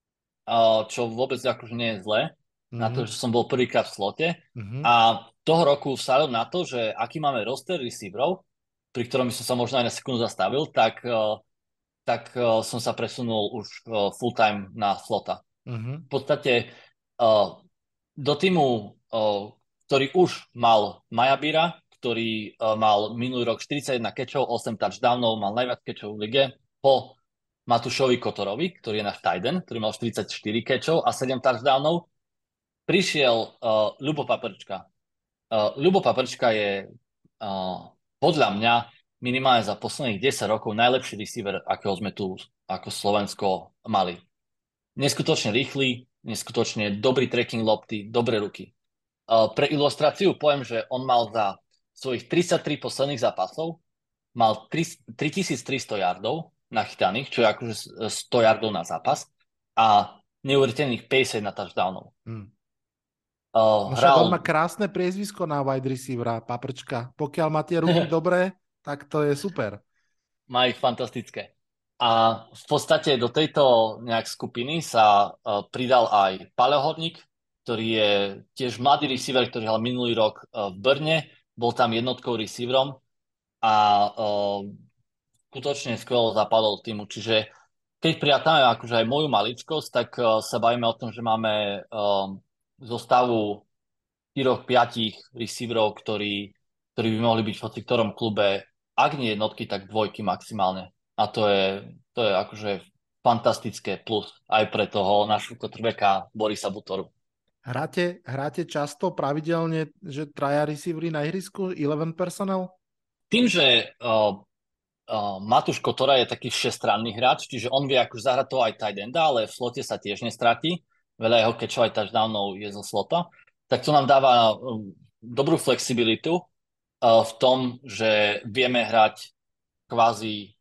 A: čo vôbec akože nie je zlé, na to, že som bol prvýkrát v slote. A toho roku vsadil na to, že aký máme roster receiverov, pri ktorom som sa možno aj na sekundu zastavil, tak som sa presunul už full time na slota. V podstate do týmu, ktorý už mal Majabíra, ktorý mal minulý rok 41 catchov, 8 touchdownov, mal najviac catchov v lige, po Matúšovi Kotorovi, ktorý je náš tight end, ktorý mal 44 catchov a 7 touchdownov, prišiel Ľubo Paprčka. Ľubo Paprčka je podľa mňa minimálne za posledných 10 rokov najlepší receiver, akého sme tu ako Slovensko mali. Neskutočne rýchly, neskutočne dobrý tracking lopty, dobré ruky. Pre ilustráciu poviem, že on mal za svojich 33 posledných zápasov mal 3300 yardov nachytaných, čo je akože 100 yardov na zápas a neuveriteľných 51 touchdownov.
C: On má krásne priezvisko na wide receivera, Paprčka. Pokiaľ má tie ruky dobré, tak to je super.
A: Má ich fantastické. A v podstate do tejto nejak skupiny sa pridal aj Paleohodník, ktorý je tiež mladý receiver, ktorý hral minulý rok v Brne, bol tam jednotkou receiverom a skutočne skvelo zapadol týmu. Čiže keď prijatame akože aj moju maličkosť, tak sa bavíme o tom, že máme zostavu 4-5 receiverov, ktorí by mohli byť v hoci ktorom klube, ak nie jednotky, tak dvojky maximálne. A to je akože fantastické plus aj pre toho našho quarterbacka Borisa Butoru.
C: Hráte často, pravidelne, že traja receivery na ihrisku, 11 personnel?
A: Tým, že Matúš Kotora je taký všestranný hráč, čiže on vie akože zahrať toho aj tight enda, ale v slote sa tiež nestratí. Veľa jeho catchov aj touchdownov je zo slota. Tak to nám dáva dobrú flexibilitu v tom, že vieme hrať kvázi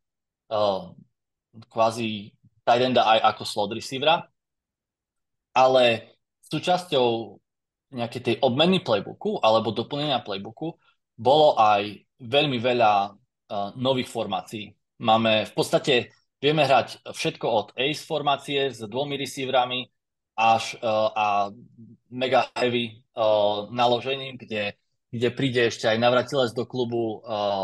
A: tight enda aj ako slot receivera. Ale v súčasťou nejakej tej obmeny playbooku alebo doplnenia playbooku bolo aj veľmi veľa nových formácií. V podstate vieme hrať všetko od ace formácie s dvomi receiverami až a mega heavy naložením, kde príde ešte aj navratilec do klubu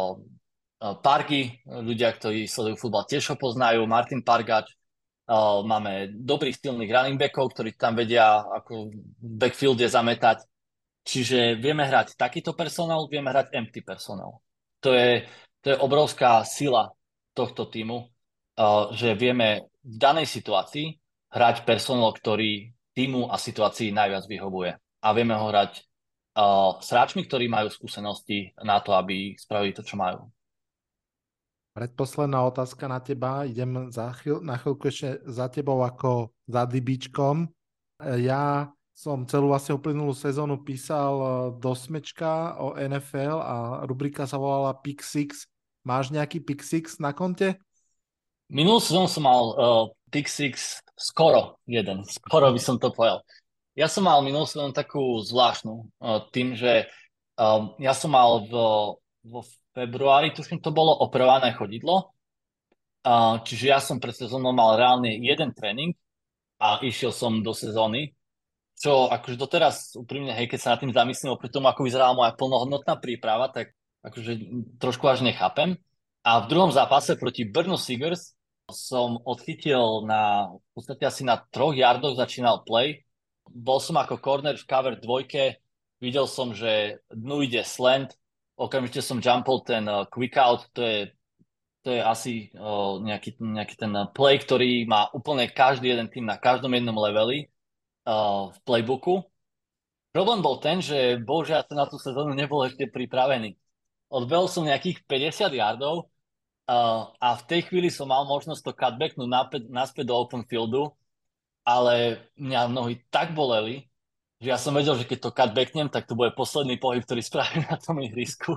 A: Pargy, ľudia, ktorí sledujú futbal, tiež ho poznajú, Martin Pargač. Máme dobrých silných running backov, ktorí tam vedia ako v backfielde zametať. Čiže vieme hrať takýto personál, vieme hrať empty personál. To je obrovská sila tohto týmu, že vieme v danej situácii hrať personál, ktorý týmu a situácii najviac vyhovuje. A vieme ho hrať s hráčmi, ktorí majú skúsenosti na to, aby spravili to, čo majú.
C: Predposledná otázka na teba. Idem na chvíľku ešte za tebou ako za Dybičkom. Ja som celú vlastne uplynulú sezónu písal do Smečka o NFL a rubrika sa volala Pick Six. Máš nejaký Pick Six na konte?
A: Minulú sezónu som mal Pick Six skoro jeden. Skoro by som to povedal. Ja som mal minulú sezónu takú zvláštnu tým, že ja som mal vo februári, tuším, to bolo opravované chodidlo. Čiže ja som pred sezónou mal reálne jeden tréning a išiel som do sezóny. Čo akože doteraz úprimne, hej, keď sa nad tým zamyslím oproti tomu, ako vyzerala moja plnohodnotná príprava, tak akože trošku až nechápem. A v druhom zápase proti Brno Seagers som odchytil v podstate asi na 3 yardoch začínal play. Bol som ako corner v cover 2, videl som, že dnu ide slant, okamžite som jumpol ten quick out, to je asi nejaký ten play, ktorý má úplne každý jeden tým na každom jednom leveli v playbooku. Problém bol ten, že bohužiaľ na tú sezónu nebol ešte pripravený. Odbehol som nejakých 50 yardov a v tej chvíli som mal možnosť to cutbacknúť naspäť do open fieldu, ale mňa nohy tak boleli, že ja som vedel, že keď to cutbacknem, tak to bude posledný pohyb, ktorý spravím na tom ihrisku.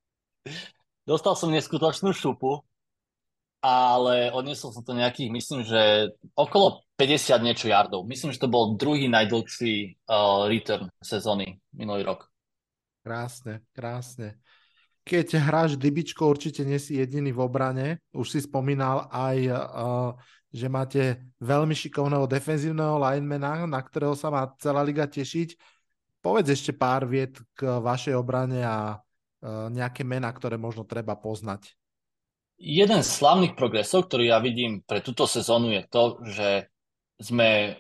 A: Dostal som neskutočnú šupu, ale odnesol som to nejakých, myslím, že okolo 50 niečo yardov. Myslím, že to bol druhý najdlhší return sezóny minulý rok.
C: Krásne, krásne. Keď hráš Dybičko, určite nie si jediný v obrane. Už si spomínal aj, že máte veľmi šikovného defenzívneho linemana, na ktorého sa má celá liga tešiť. Povedz ešte pár viet k vašej obrane a nejaké mená, ktoré možno treba poznať.
A: Jeden z slavných progresov, ktorý ja vidím pre túto sezónu, je to, že sme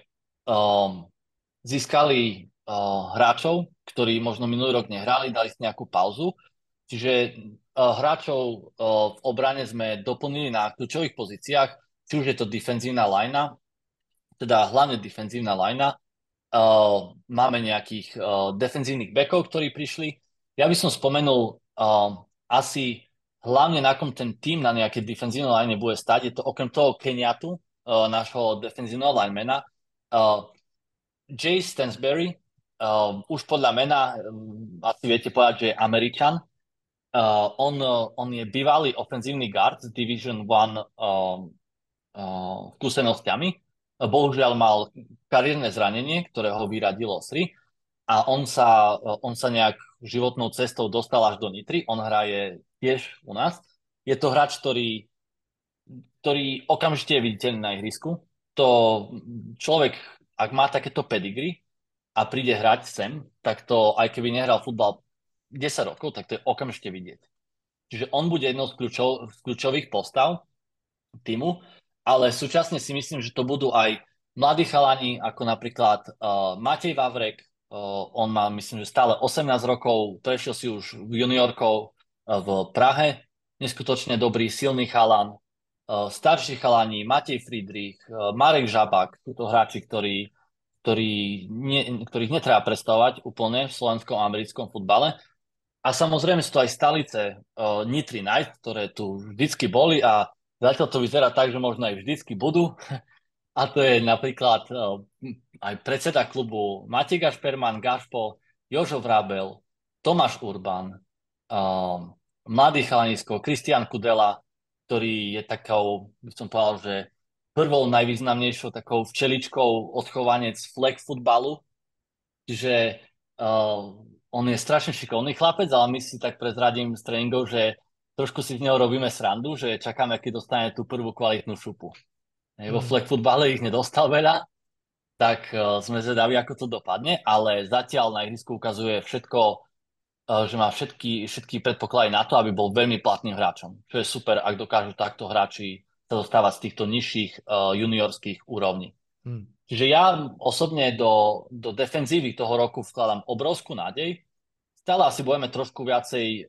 A: získali hráčov, ktorí možno minulý rok nehrali, dali si nejakú pauzu. Čiže hráčov v obrane sme doplnili na kľúčových pozíciách, či už je to defenzívna linea, teda hlavne defenzívna linea. Máme nejakých defenzívnych backov, ktorí prišli. Ja by som spomenul asi hlavne na kom ten tým na nejakej defenzívnej line bude stať. Je to okrem toho Kenyatu, nášho defenzívneho linemana. Jay Stansberry, už podľa mena asi viete povedať, že je Američan. On je bývalý ofenzívny guard z Division 1 skúsenostiami. Bohužiaľ mal kariérne zranenie, ktoré ho vyradilo z hry a on sa nejak životnou cestou dostal až do Nitry. On hraje tiež u nás. Je to hráč, ktorý okamžite je viditeľný na ihrisku. To človek, ak má takéto pedigree a príde hrať sem, tak to, aj keby nehral futbal 10 rokov, tak to je okamžite vidieť. Čiže on bude jednou z kľúčových postav týmu, ale súčasne si myslím, že to budú aj mladí chalani, ako napríklad Matej Vavrek. On má, myslím, že stále 18 rokov, prešiel si už juniorkou v Prahe. Neskutočne dobrý, silný chalan. Starší chalani, Matej Friedrich, Marek Žabák, sú to hráči, ktorých netreba predstavovať úplne v slovenskom a americkom futbale. A samozrejme sú to aj stalice Nitry Knights, ktoré tu vždycky boli a zatiaľ to vyzerá tak, že možno aj vždycky budú. A to je napríklad aj predseda klubu Matej Gašperman, Gašpo, Jožo Vrabel, Tomáš Urban, mladý chalanisko Kristián Kudela, ktorý je takou, by som povedal, že prvou najvýznamnejšou takou včeličkou odchovanec flag futbalu Čiže on je strašne šikovný chlapec, ale my si tak prezradím z tréningov, že trošku si z neho robíme srandu, že čakáme, keď dostane tú prvú kvalitnú šupu. Vo
C: Mm.
A: flag futbale ich nedostal veľa, tak sme zvedaví, ako to dopadne, ale zatiaľ na ihrisku ukazuje všetko, že má všetky predpoklady na to, aby bol veľmi platným hráčom. Čo je super, ak dokážu takto hráči sa dostávať z týchto nižších juniorských úrovní.
C: Mm.
A: Čiže ja osobne do defenzívy toho roku vkladám obrovskú nádej. Stále asi budeme trošku viacej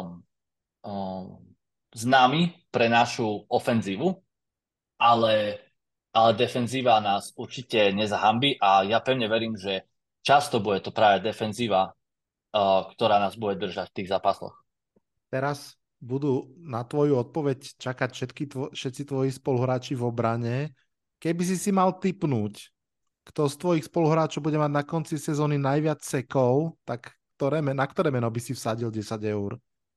A: známi pre našu ofenzívu, ale, ale defenzíva nás určite nezahambí a ja pevne verím, že často bude to práve defenzíva, ktorá nás bude držať v tých zápasoch.
C: Teraz budú na tvoju odpoveď čakať všetci tvoji spoluhráči v obrane. Keby si mal tipnúť, kto z tvojich spoluhráčov bude mať na konci sezóny najviac sekov, tak na ktoré meno by si vsadil 10 eur?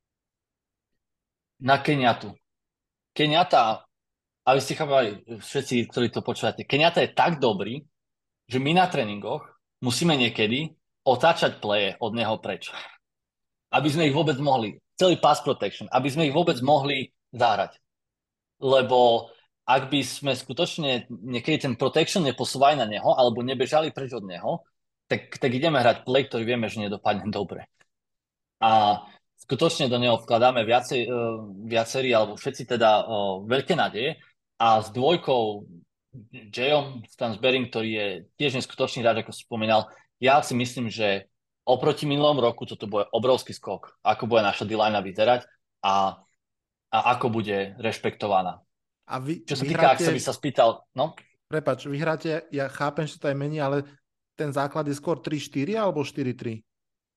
A: Na Keniatu. Keniata, aby ste chápali všetci, ktorí to počúvate, Keniata je tak dobrý, že my na tréningoch musíme niekedy otáčať pleje od neho preč. Aby sme ich vôbec mohli, celý pass protection, aby sme ich vôbec mohli zahrať. Lebo ak by sme skutočne niekedy ten protection neposúvali na neho, alebo nebežali preč od neho, tak ideme hrať play, ktorý vieme, že nedopadne dobre. A skutočne do neho vkladáme viacerí, alebo všetci teda veľké nádeje. A s dvojkou Jayom Stansberry, ktorý je tiež neskutočný hráč, ako si spomínal, ja si myslím, že oproti minulom roku toto bude obrovský skok, ako bude naša D-line vyzerať a ako bude rešpektovaná.
C: A
A: Čo sa týka, ak sa by sa spýtal, no?
C: Prepáč, vyhráte, ja chápem, že to aj mení, ale ten základ je skôr 3-4 alebo 4-3?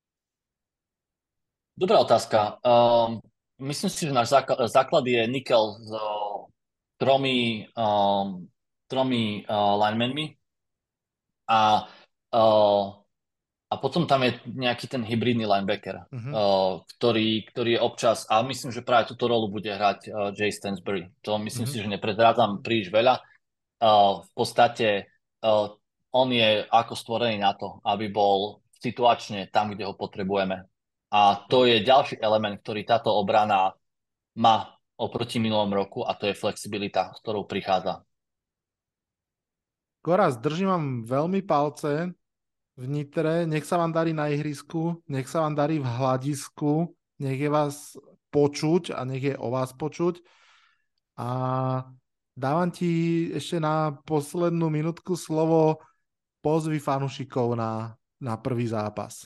A: Dobrá otázka. Myslím si, že náš základ je nikel s tromi linemenmi a, uh, a potom tam je nejaký ten hybridný linebacker, ktorý je občas, a myslím, že práve túto rolu bude hrať Jay Stansberry. To myslím si, že nepredrádzam príliš veľa. V podstate on je ako stvorený na to, aby bol situačne tam, kde ho potrebujeme. A to je ďalší element, ktorý táto obrana má oproti minulom roku, a to je flexibilita, s ktorou prichádza.
C: Goraz, držím vám veľmi palce v Nitre, nech sa vám darí na ihrisku, nech sa vám darí v hľadisku, nech je vás počuť a nech je o vás počuť. A dávam ti ešte na poslednú minútku slovo, pozvi fanúšikov na prvý zápas.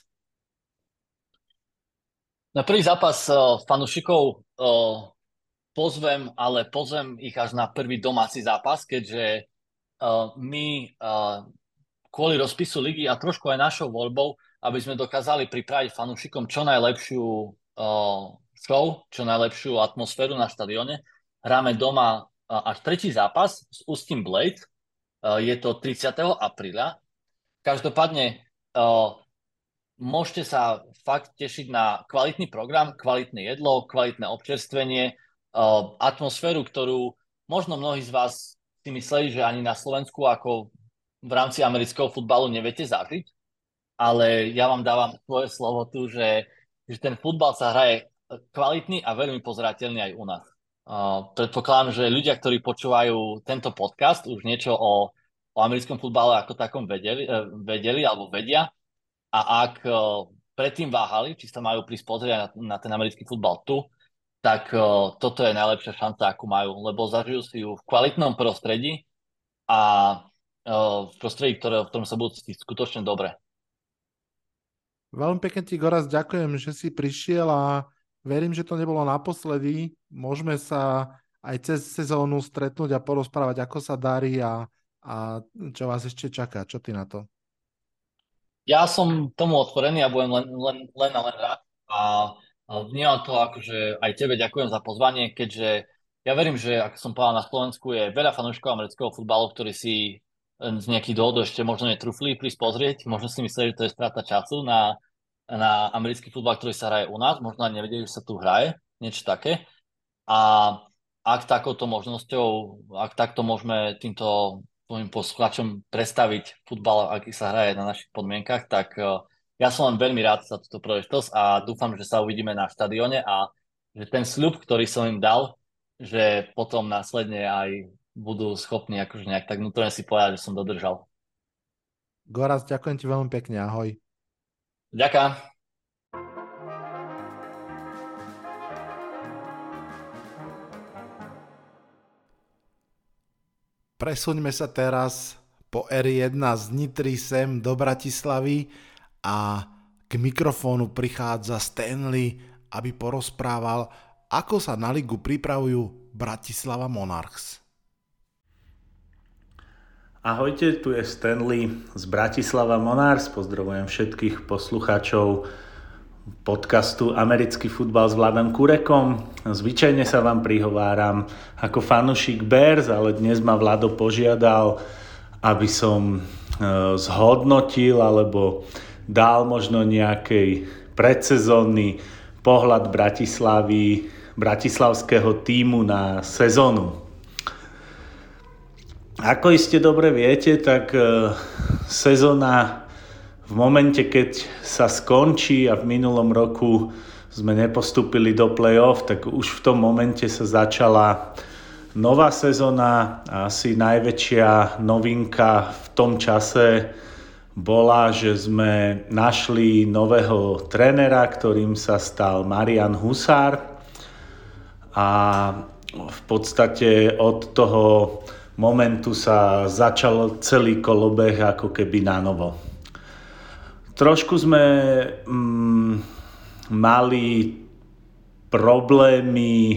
A: Na prvý zápas fanúšikov pozvem ich až na prvý domáci zápas, keďže my kvôli rozpisu ligy a trošku aj našou voľbou, aby sme dokázali pripraviť fanúšikom čo najlepšiu show, čo najlepšiu atmosféru na štadióne, hráme doma až tretí zápas s Ústím Blade. Je to 30. apríla. Každopádne môžete sa fakt tešiť na kvalitný program, kvalitné jedlo, kvalitné občerstvenie, atmosféru, ktorú možno mnohí z vás si mysleli, že ani na Slovensku ako v rámci amerického futbalu neviete zažiť, ale ja vám dávam svoje slovo tu, že ten futbal sa hraje kvalitný a veľmi pozerateľný aj u nás. Predpokladám, že ľudia, ktorí počúvajú tento podcast, už niečo o americkom futbale ako takom vedeli alebo vedia. A ak predtým váhali, či sa majú prísť pozrieť na ten americký futbal tu, tak toto je najlepšia šanca, akú majú, lebo zažijú si ju v kvalitnom prostredí a v prostredí, v ktorom sa budú cítiť skutočne dobre.
C: Veľmi pekne ti, Goraz, ďakujem, že si prišiel a verím, že to nebolo naposledy. Môžeme sa aj cez sezónu stretnúť a porozprávať, ako sa darí a čo vás ešte čaká. Čo ty na to?
A: Ja som tomu otvorený a budem len rád. A vnímam to ako, že aj tebe ďakujem za pozvanie, keďže ja verím, že, ako som povedal, na Slovensku je veľa fanúšikov amerického futbalu, ktorí si z nejakých dôvodov ešte možno netrúfli prísť pozrieť. Možno si mysleli, že to je strata času na americký futbal, ktorý sa hraje u nás. Možno aj nevedeli, že sa tu hraje. Niečo také. A ak takouto možnosťou, ak takto môžeme týmto svojim poslucháčom predstaviť futbal, aký sa hraje na našich podmienkach, tak ja som len veľmi rád za túto príležitosť a dúfam, že sa uvidíme na štadióne a že ten sľub, ktorý som im dal, že potom následne aj budú schopní akože nejak tak vnútorne si povedať, že som dodržal.
C: Gorazd, ďakujem ti veľmi pekne, ahoj.
A: Ďakujem.
C: Presuňme sa teraz po R1 z Nitry sem do Bratislavy a k mikrofónu prichádza Stanley, aby porozprával, ako sa na ligu pripravujú Bratislava Monarchs.
E: Ahojte, tu je Stanley z Bratislava Monarchs. Pozdravujem všetkých poslucháčov podcastu Americký futbal s Vladom Kurekom. Zvyčajne sa vám prihováram ako fanúšik Bears, ale dnes ma Vlado požiadal, aby som zhodnotil alebo dal možno nejaký predsezónny pohľad bratislavského tímu na sezónu. Ako iste dobre viete, tak sezóna v momente, keď sa skončí a v minulom roku sme nepostúpili do play-off, tak už v tom momente sa začala nová sezóna a asi najväčšia novinka v tom čase bola, že sme našli nového trénera, ktorým sa stal Marian Husár a v podstate od toho momentu sa začal celý kolobeh ako keby na novo. Trošku sme mali problémy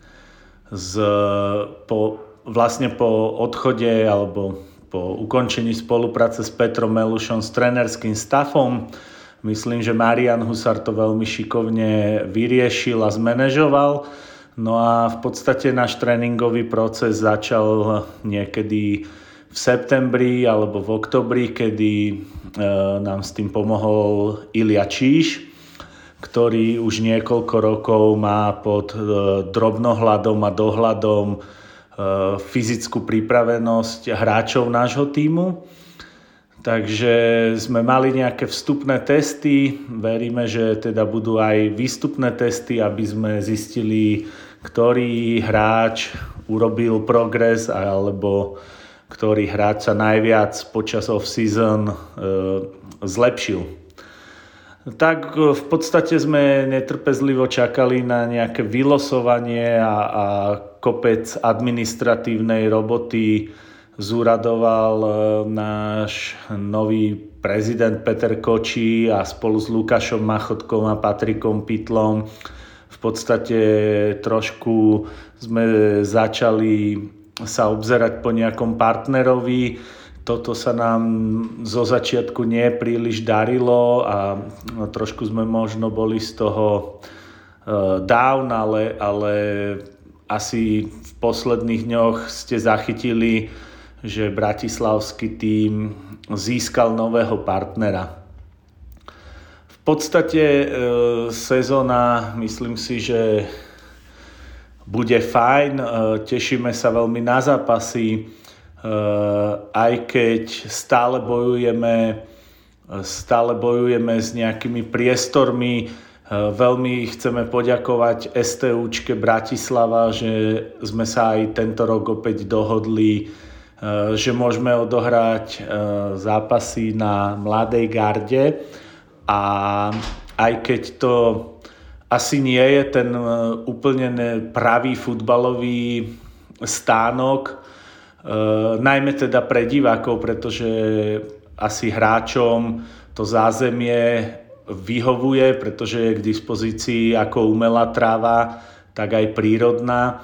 E: vlastne po odchode alebo po ukončení spolupráce s Petrom Melušom s trénerským staffom. Myslím, že Marian Husár to veľmi šikovne vyriešil a zmanéžoval. No a v podstate náš tréningový proces začal niekedy v septembri alebo v oktobri, kedy nám s tým pomohol Ilia Číš, ktorý už niekoľko rokov má pod drobnohľadom a dohľadom fyzickú pripravenosť hráčov nášho tímu. Takže sme mali nejaké vstupné testy, veríme, že teda budú aj výstupné testy, aby sme zistili, ktorý hráč urobil progres alebo ktorý hráč sa najviac počas off-season zlepšil. Tak v podstate sme netrpezlivo čakali na nejaké vylosovanie a kopec administratívnej roboty zúradoval náš nový prezident Peter Kočí a spolu s Lukášom Machotkom a Patrikom Pytlom v podstate trošku sme začali sa obzerať po nejakom partnerovi. Toto sa nám zo začiatku nie príliš darilo a trošku sme možno boli z toho down, ale asi v posledných dňoch ste zachytili, že bratislavský tím získal nového partnera. V podstate sezóna, myslím si, že bude fajn, tešíme sa veľmi na zápasy, aj keď stále bojujeme s nejakými priestormi. Veľmi chceme poďakovať STUčke Bratislava, že sme sa aj tento rok opäť dohodli, že môžeme odohrať zápasy na Mladej garde a aj keď to asi nie je ten úplne pravý futbalový stánok, najmä teda pre divákov, pretože asi hráčom to zázemie vyhovuje, pretože je k dispozícii ako umelá tráva, tak aj prírodná.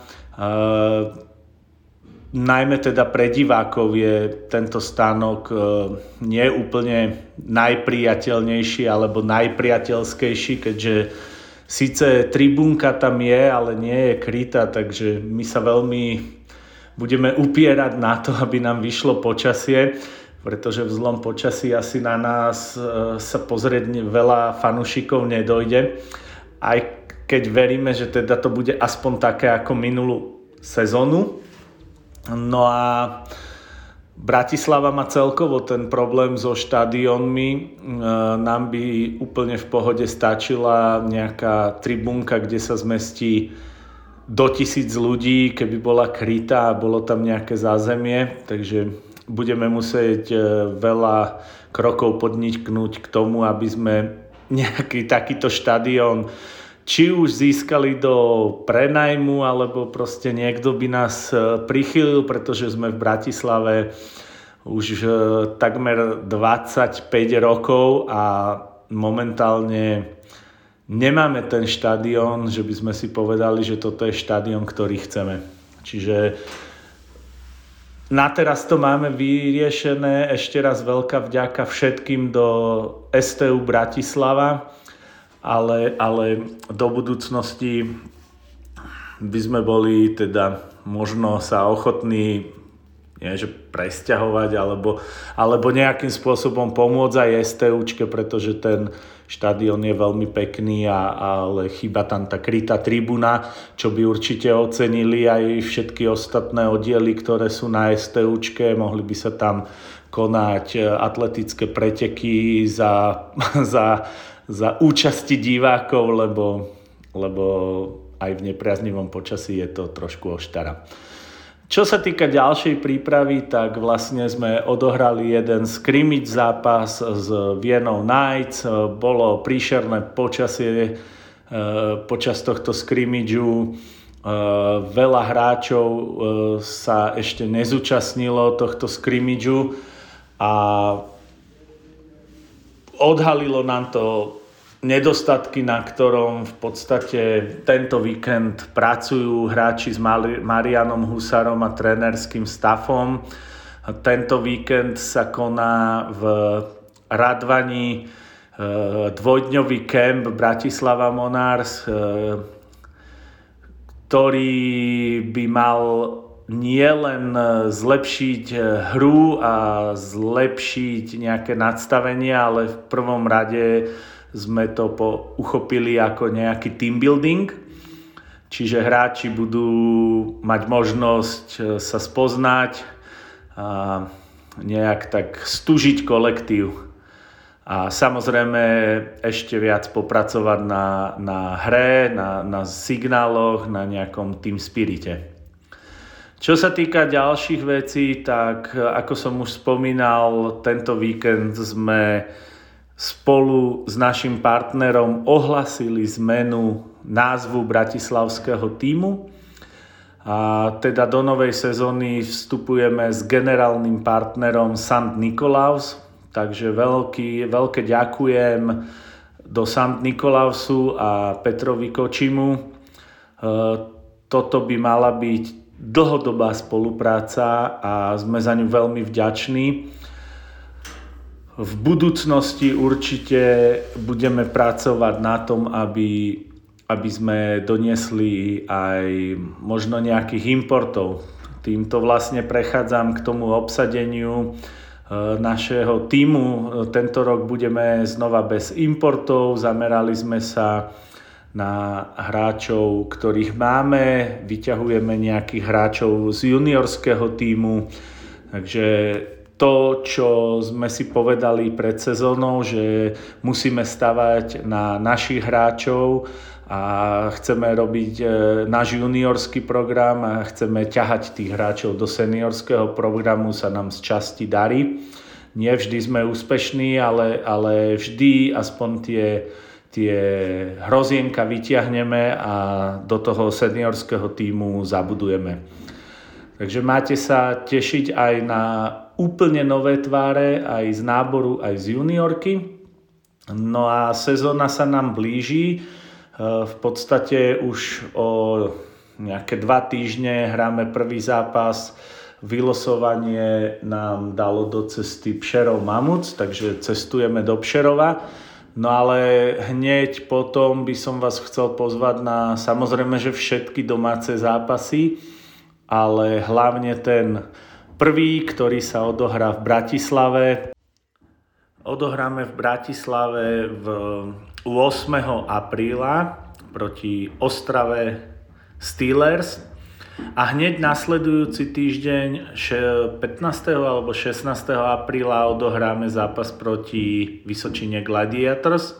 E: Najmä teda pre divákov je tento stánok nie úplne najpriateľnejší alebo najpriateľskejší, keďže síce tribúnka tam je, ale nie je krytá, takže my sa veľmi budeme upierať na to, aby nám vyšlo počasie, pretože v zlom počasí asi na nás sa pozrieť veľa fanúšikov nedojde. Aj keď veríme, že teda to bude aspoň také ako minulú sezónu. No a Bratislava má celkovo ten problém so štadiónmi. Nám by úplne v pohode stačila nejaká tribúnka, kde sa zmestí do 1000 ľudí, keby bola krytá a bolo tam nejaké zázemie. Takže budeme musieť veľa krokov podniknúť k tomu, aby sme nejaký takýto štadión či už získali do prenajmu, alebo proste niekto by nás prichylil, pretože sme v Bratislave už takmer 25 rokov a momentálne nemáme ten štadión, že by sme si povedali, že toto je štadión, ktorý chceme. Čiže na teraz to máme vyriešené. Ešte raz veľká vďaka všetkým do STU Bratislava, ale do budúcnosti by sme boli teda možno sa ochotní presťahovať alebo nejakým spôsobom pomôcť aj STUčke, pretože ten štadión je veľmi pekný, ale chýba tam tá krytá tribúna, čo by určite ocenili aj všetky ostatné oddiely, ktoré sú na STUčke. Mohli by sa tam konať atletické preteky za účasti divákov, lebo aj v nepriaznivom počasí je to trošku oštara. Čo sa týka ďalšej prípravy, tak vlastne sme odohrali jeden scrimmage zápas s Vienou Knights. Bolo príšerné počasie počas tohto scrimmageu. Veľa hráčov sa ešte nezúčastnilo tohto scrimmageu a odhalilo nám to nedostatky, na ktorom v podstate tento víkend pracujú hráči s Marianom Husárom a trénerským staffom. Tento víkend sa koná v Radvani dvojdňový kemp Bratislava Monarchs, ktorý by mal nielen zlepšiť hru a zlepšiť nejaké nadstavenie, ale v prvom rade sme to uchopili ako nejaký team building. Čiže hráči budú mať možnosť sa spoznať a nejak tak stúžiť kolektív. A samozrejme ešte viac popracovať na hre, na signáloch, na nejakom team spirite. Čo sa týka ďalších vecí, tak ako som už spomínal, tento víkend sme spolu s našim partnerom ohlasili zmenu názvu bratislavského tímu. A teda do novej sezóny vstupujeme s generálnym partnerom St. Nikolaus. Takže veľké ďakujem do St. Nikolausu a Petrovi Kočimu. Toto by mala byť dlhodobá spolupráca a sme za ňu veľmi vďační. V budúcnosti určite budeme pracovať na tom, aby sme doniesli aj možno nejakých importov. Týmto vlastne prechádzam k tomu obsadeniu našeho tímu. Tento rok budeme znova bez importov. Zamerali sme sa na hráčov, ktorých máme. Vyťahujeme nejakých hráčov z juniorského tímu. Takže to, čo sme si povedali pred sezónou, že musíme stavať na našich hráčov a chceme robiť náš juniorský program a chceme ťahať tých hráčov do seniorského programu, sa nám z časti darí. Nie vždy sme úspešní, ale vždy aspoň tie hrozienka vyťahneme a do toho seniorského tímu zabudujeme. Takže máte sa tešiť aj na úplne nové tváre, aj z náboru, aj z juniorky. No a sezóna sa nám blíži. V podstate už o nejaké 2 týždne hráme prvý zápas. Vylosovanie nám dalo do cesty Pšerov Mamúc, takže cestujeme do Pšerova. No ale hneď potom by som vás chcel pozvať na samozrejme, že všetky domáce zápasy, ale hlavne ten prvý, ktorý sa odohrá v Bratislave. Odohráme v Bratislave 8. apríla proti Ostrave Steelers. A hneď nasledujúci týždeň 15. alebo 16. apríla odohráme zápas proti Vysočine Gladiators.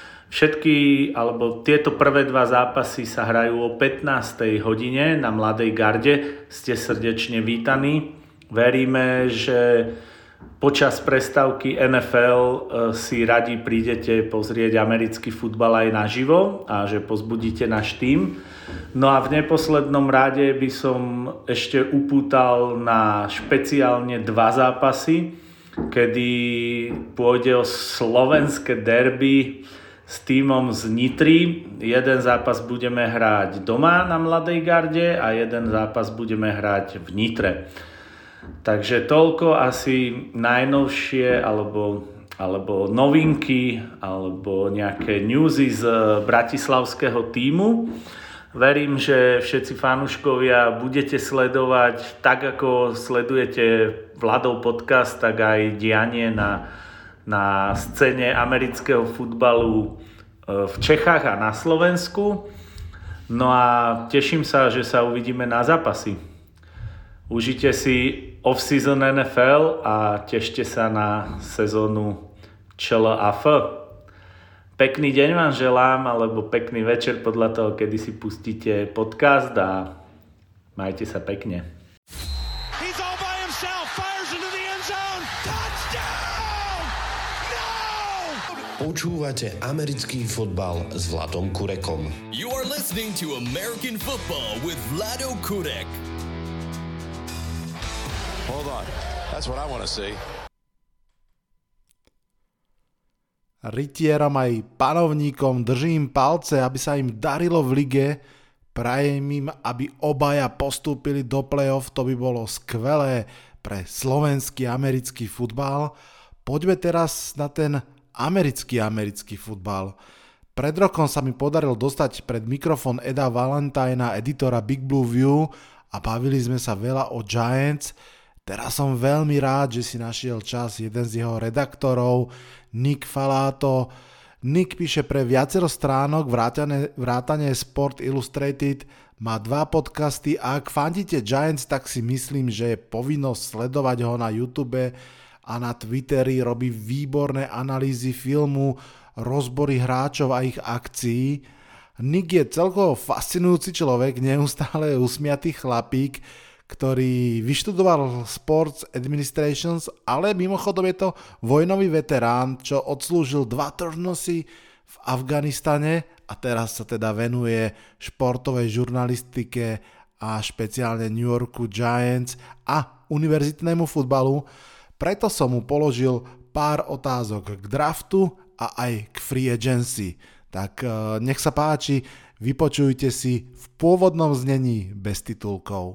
E: Tieto prvé dva zápasy sa hrajú o 15. hodine na Mladej garde. Ste srdečne vítaní. Veríme, že počas prestávky NFL si radi prídete pozrieť americký futbal aj naživo a že pozbudíte náš tím. No a v neposlednom rade by som ešte upútal na špeciálne dva zápasy, kedy pôjde o slovenské derby s tímom z Nitry. Jeden zápas budeme hrať doma na Mladej garde a jeden zápas budeme hrať v Nitre. Takže toľko asi najnovšie alebo novinky alebo nejaké newsy z bratislavského tímu. Verím, že všetci fanúškovia budete sledovať, tak ako sledujete Vladov podcast, tak aj dianie na scéne amerického futbalu v Čechách a na Slovensku. No a teším sa, že sa uvidíme na zápasy. Užite si off-season NFL a tešte sa na sezónu ČLAF. Pekný deň vám želám, alebo pekný večer podľa toho, kedy si pustíte podcast a majte sa pekne.
F: He's all by himself, fires into the end zone. Touchdown! No!
G: Počúvate americký futbal s Vladom Kurekom.
H: You are listening to American Football with Vlado Kurek.
F: Hold on. That's what I want to see.
C: Rytierom aj panovníkom držím palce, aby sa im darilo v lige. Prajem im, aby obaja postúpili do play-off, to by bolo skvelé pre slovenský americký futbal. Poďme teraz na ten americký futbal. Pred rokom sa mi podarilo dostať pred mikrofón Eda Valentina, editora Big Blue View, a bavili sme sa veľa o Giants. Teraz som veľmi rád, že si našiel čas jeden z jeho redaktorov, Nick Falato. Nick píše pre viacero stránok, vrátane Sport Illustrated, má 2 podcasty a ak fandíte Giants, tak si myslím, že je povinnosť sledovať ho na YouTube a na Twitteri. Robí výborné analýzy filmu, rozbory hráčov a ich akcií. Nick je celkovo fascinujúci človek, neustále usmiatý chlapík, ktorý vyštudoval Sports Administrations, ale mimochodom je to vojnový veterán, čo odslúžil 2 turnusy v Afganistane a teraz sa teda venuje športovej žurnalistike a špeciálne New Yorku Giants a univerzitnému futbalu. Preto som mu položil pár otázok k draftu a aj k free agency. Tak nech sa páči, vypočujte si v pôvodnom znení bez titulkov.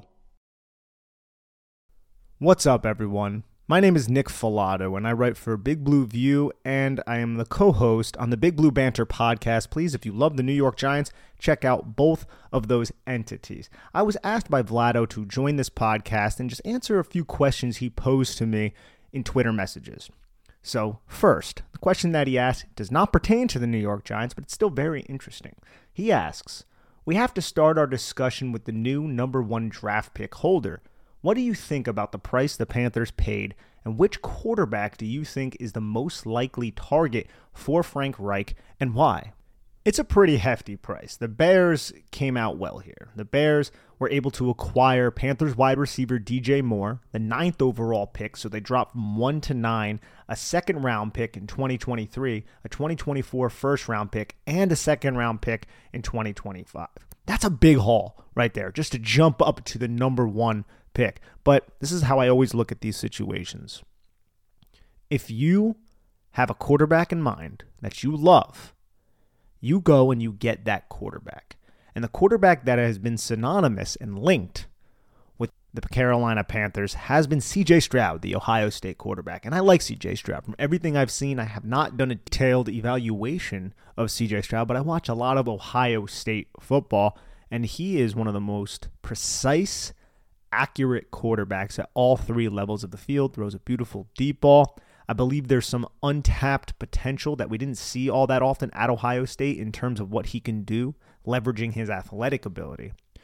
I: What's up, everyone? My name is Nick Falato, and I write for Big Blue View, and I am the co-host on the Big Blue Banter podcast. Please, if you love the New York Giants, check out both of those entities. I was asked by Vlado to join this podcast and just answer a few questions he posed to me in Twitter messages. So, first, the question that he asked does not pertain to the New York Giants, but it's still very interesting. He asks, we have to start our discussion with the new number 1 draft pick holder. What do you think about the price the Panthers paid, and which quarterback do you think is the most likely target for Frank Reich, and why? It's a pretty hefty price. The Bears came out well here. The Bears were able to acquire Panthers wide receiver DJ Moore, the 9th overall pick, so they dropped from 1 to 9, a second-round pick in 2023, a 2024 first-round pick, and a second-round pick in 2025. That's a big haul right there, just to jump up to the number 1 pick. But this is how I always look at these situations. If you have a quarterback in mind that you love, you go and you get that quarterback. And the quarterback that has been synonymous and linked with the Carolina Panthers has been C.J. Stroud, the Ohio State quarterback. And I like C.J. Stroud. From everything I've seen, I have not done a detailed evaluation of C.J. Stroud, but I watch a lot of Ohio State football, and he is one of the most precise, accurate quarterbacks at all 3 levels of the field. Throws a beautiful deep ball. I believe there's some untapped potential that we didn't see all that often at Ohio State in terms of what he can do, leveraging his athletic ability.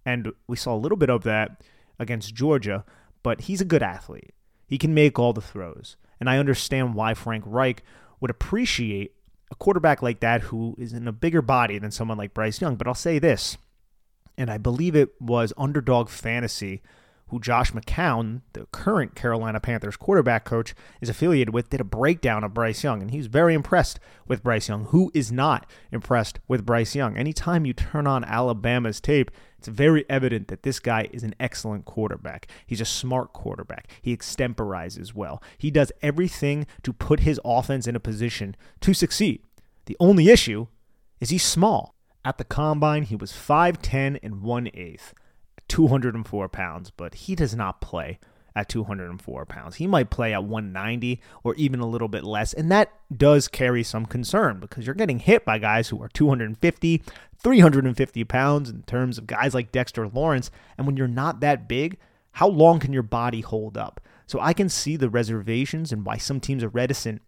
I: And we saw a little bit of that against Georgia, but he's a good athlete. He can make all the throws. And I understand why Frank Reich would appreciate a quarterback like that who is in a bigger body than someone like Bryce Young. But I'll say this, and I believe it was Underdog Fantasy, who Josh McCown, the current Carolina Panthers quarterback coach, is affiliated with, did a breakdown of Bryce Young, and he was very impressed with Bryce Young. Who is not impressed with Bryce Young? Anytime you turn on Alabama's tape, it's very evident that this guy is an excellent quarterback. He's a smart quarterback. He extemporizes well. He does everything to put his offense in a position to succeed. The only issue is he's small. At the combine, he was 5'10 and 1/8, 204 pounds, but he does not play at 204 pounds. He might play at 190 or even a little bit less, and that does carry some concern because you're getting hit by guys who are 250, 350 pounds in terms of guys like Dexter Lawrence, and when you're not that big, how long can your body hold up? So I can see the reservations and why some teams are reticent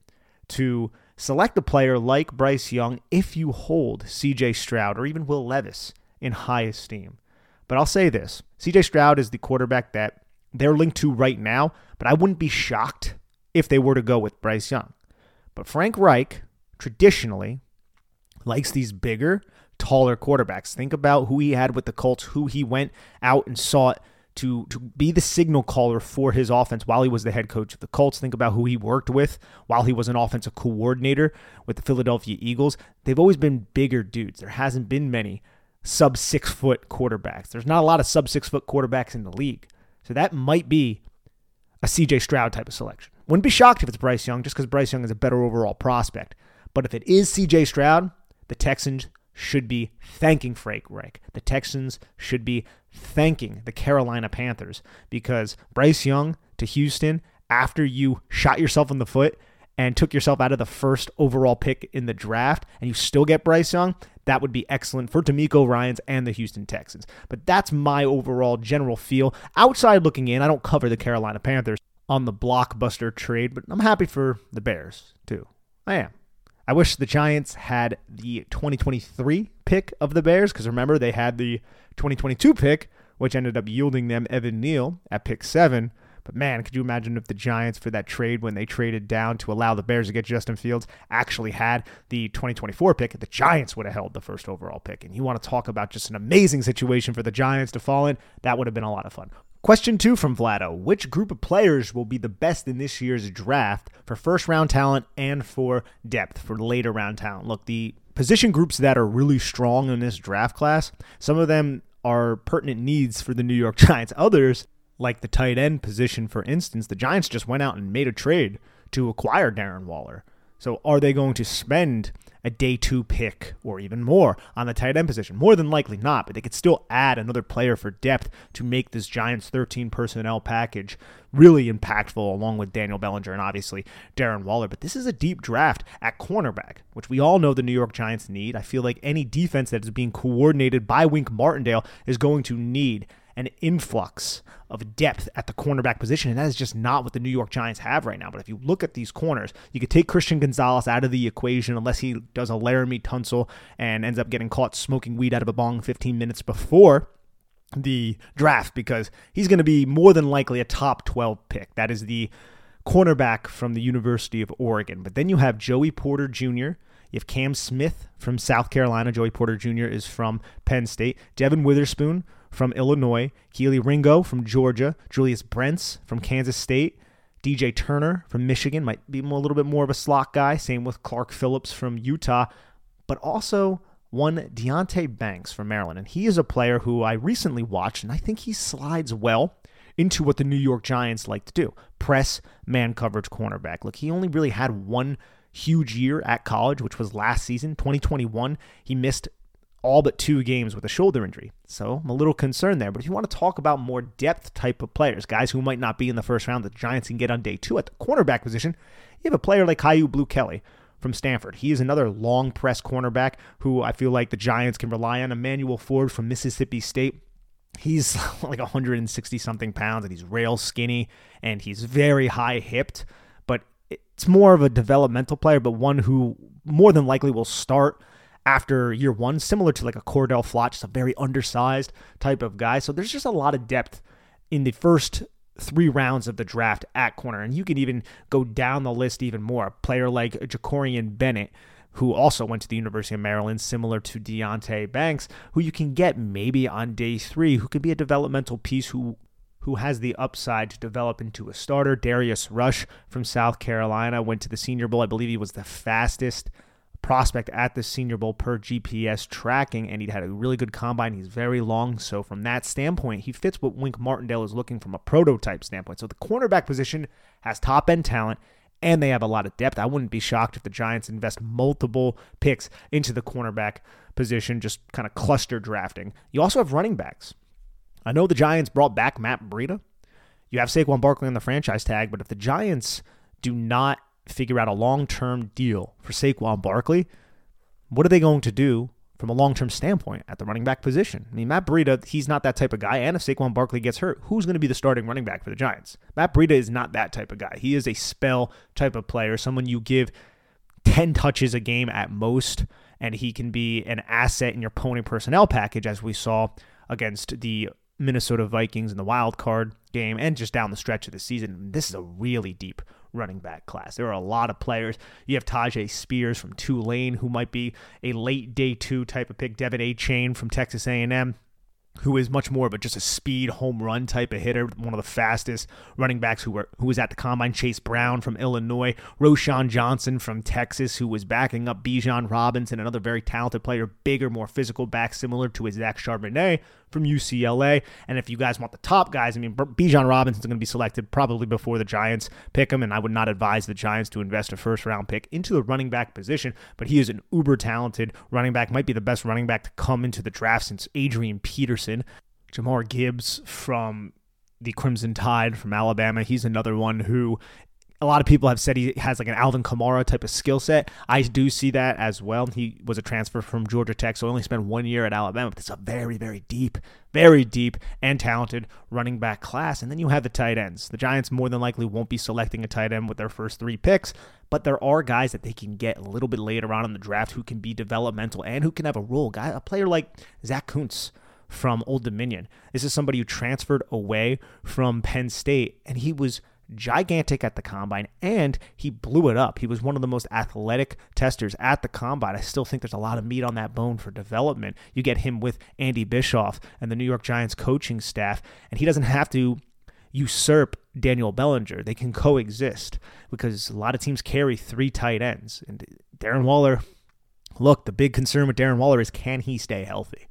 I: to select a player like Bryce Young if you hold C.J. Stroud or even Will Levis in high esteem. But I'll say this, C.J. Stroud is the quarterback that they're linked to right now, but I wouldn't be shocked if they were to go with Bryce Young. But Frank Reich traditionally likes these bigger, taller quarterbacks. Think about who he had with the Colts, who he went out and sought to be the signal caller for his offense while he was the head coach of the Colts. Think about who he worked with while he was an offensive coordinator with the Philadelphia Eagles. They've always been bigger dudes. There hasn't been many sub 6 foot quarterbacks. There's not a lot of sub 6 foot quarterbacks in the league. So that might be a CJ Stroud type of selection. Wouldn't be shocked if it's Bryce Young just because Bryce Young is a better overall prospect. But if it is CJ Stroud, the Texans should be thanking Frank Reich. The Texans should be thanking the Carolina Panthers because Bryce Young to Houston after you shot yourself in the foot and took yourself out of the first overall pick in the draft and you still get Bryce Young, that would be excellent for DeMeco Ryans and the Houston Texans. But that's my overall general feel. Outside looking in, I don't cover the Carolina Panthers on the blockbuster trade, but I'm happy for the Bears too. I am. I wish the Giants had the 2023 pick of the Bears because remember they had the 2022 pick, which ended up yielding them Evan Neal at pick 7. But man, could you imagine if the Giants for that trade when they traded down to allow the Bears to get Justin Fields actually had the 2024 pick? The Giants would have held the first overall pick. And you want to talk about just an amazing situation for the Giants to fall in? That would have been a lot of fun. Question 2 from Vlado. Which group of players will be the best in this year's draft for first-round talent and for depth, for later-round talent? Look, the position groups that are really strong in this draft class, some of them are pertinent needs for the New York Giants. Others, like the tight end position, for instance, the Giants just went out and made a trade to acquire Darren Waller. So are they going to spend a day 2 pick or even more on the tight end position? More than likely not, but they could still add another player for depth to make this Giants 13 personnel package really impactful along with Daniel Bellinger and obviously Darren Waller. But this is a deep draft at cornerback, which we all know the New York Giants need. I feel like any defense that is being coordinated by Wink Martindale is going to need an influx of depth at the cornerback position, and that is just not what the New York Giants have right now. But if you look at these corners, you could take Christian Gonzalez out of the equation unless he does a Laramie Tunsil and ends up getting caught smoking weed out of a bong 15 minutes before the draft, because he's going to be more than likely a top 12 pick. That is the cornerback from the University of Oregon. But then you have Joey Porter Jr., you have Cam Smith from South Carolina. Joey Porter Jr. is from Penn State. Devin Witherspoon from Illinois. Keely Ringo from Georgia. Julius Brents from Kansas State. DJ Turner from Michigan. Might be a little bit more of a slot guy. Same with Clark Phillips from Utah. But also one Deonte Banks from Maryland. And he is a player who I recently watched, and I think he slides well into what the New York Giants like to do. Press, man coverage, cornerback. Look, he only really had one huge year at college, which was last season, 2021. He missed all but 2 games with a shoulder injury. So I'm a little concerned there. But if you want to talk about more depth type of players, guys who might not be in the first round, the Giants can get on day 2 at the cornerback position, you have a player like Caillou Blue Kelly from Stanford. He is another long press cornerback who I feel like the Giants can rely on. Emmanuel Ford from Mississippi State. He's like 160-something pounds, and he's rail skinny, and he's very high-hipped. But it's more of a developmental player, but one who more than likely will start after year one, similar to like a Cordell Flott, just a very undersized type of guy. So there's just a lot of depth in the first 3 rounds of the draft at corner. And you can even go down the list even more. A player like Jacorian Bennett, who also went to the University of Maryland, similar to Deonte Banks, who you can get maybe on day 3, who could be a developmental piece who has the upside to develop into a starter. Darius Rush from South Carolina went to the Senior Bowl. I believe he was the fastest prospect at the Senior Bowl per GPS tracking, and he'd had a really good combine. He's very long, so from that standpoint, he fits what Wink Martindale is looking from a prototype standpoint. So the cornerback position has top-end talent, and they have a lot of depth. I wouldn't be shocked if the Giants invest multiple picks into the cornerback position, just kind of cluster drafting. You also have running backs. I know the Giants brought back Matt Breida. You have Saquon Barkley on the franchise tag, but if the Giants do not figure out a long-term deal for Saquon Barkley, what are they going to do from a long-term standpoint at the running back position? I mean, Matt Breida, he's not that type of guy, and if Saquon Barkley gets hurt, who's going to be the starting running back for the Giants? Matt Breida is not that type of guy. He is a spell type of player, someone you give 10 touches a game at most, and he can be an asset in your pony personnel package, as we saw against the Minnesota Vikings in the wild card game and just down the stretch of the season. This is a really deep running back class. There are a lot of players. You have Tajay Spears from Tulane, who might be a late day 2 type of pick. Devin Achane from Texas A&M, who is much more of just a speed home run type of hitter, one of the fastest running backs who was at the combine. Chase Brown from Illinois, Roschon Johnson from Texas, who was backing up Bijan Robinson, another very talented player, bigger, more physical back, similar to his Zach Charbonnet from UCLA. And if you guys want the top guys, I mean, Bijan Robinson's going to be selected probably before the Giants pick him, and I would not advise the Giants to invest a first-round pick into the running back position, but he is an uber-talented running back, might be the best running back to come into the draft since Adrian Peterson. Jahmyr Gibbs from the Crimson Tide from Alabama, he's another one who a lot of people have said he has like an Alvin Kamara type of skill set. I do see that as well. He was a transfer from Georgia Tech, so only spent 1 year at Alabama, but it's a very, very deep and talented running back class. And then you have the tight ends. The Giants more than likely won't be selecting a tight end with their first 3 picks, but there are guys that they can get a little bit later on in the draft who can be developmental and who can have a role. A player like Zach Kuntz from Old Dominion. This is somebody who transferred away from Penn State, and he was gigantic at the combine, and he blew it up. He was one of the most athletic testers at the combine. I still think there's a lot of meat on that bone for development. You get him with Andy Bischoff and the New York Giants coaching staff, and he doesn't have to usurp Daniel Bellinger. They can coexist because a lot of teams carry 3 tight ends. And Darren Waller, look, the big concern with Darren Waller is, can he stay healthy?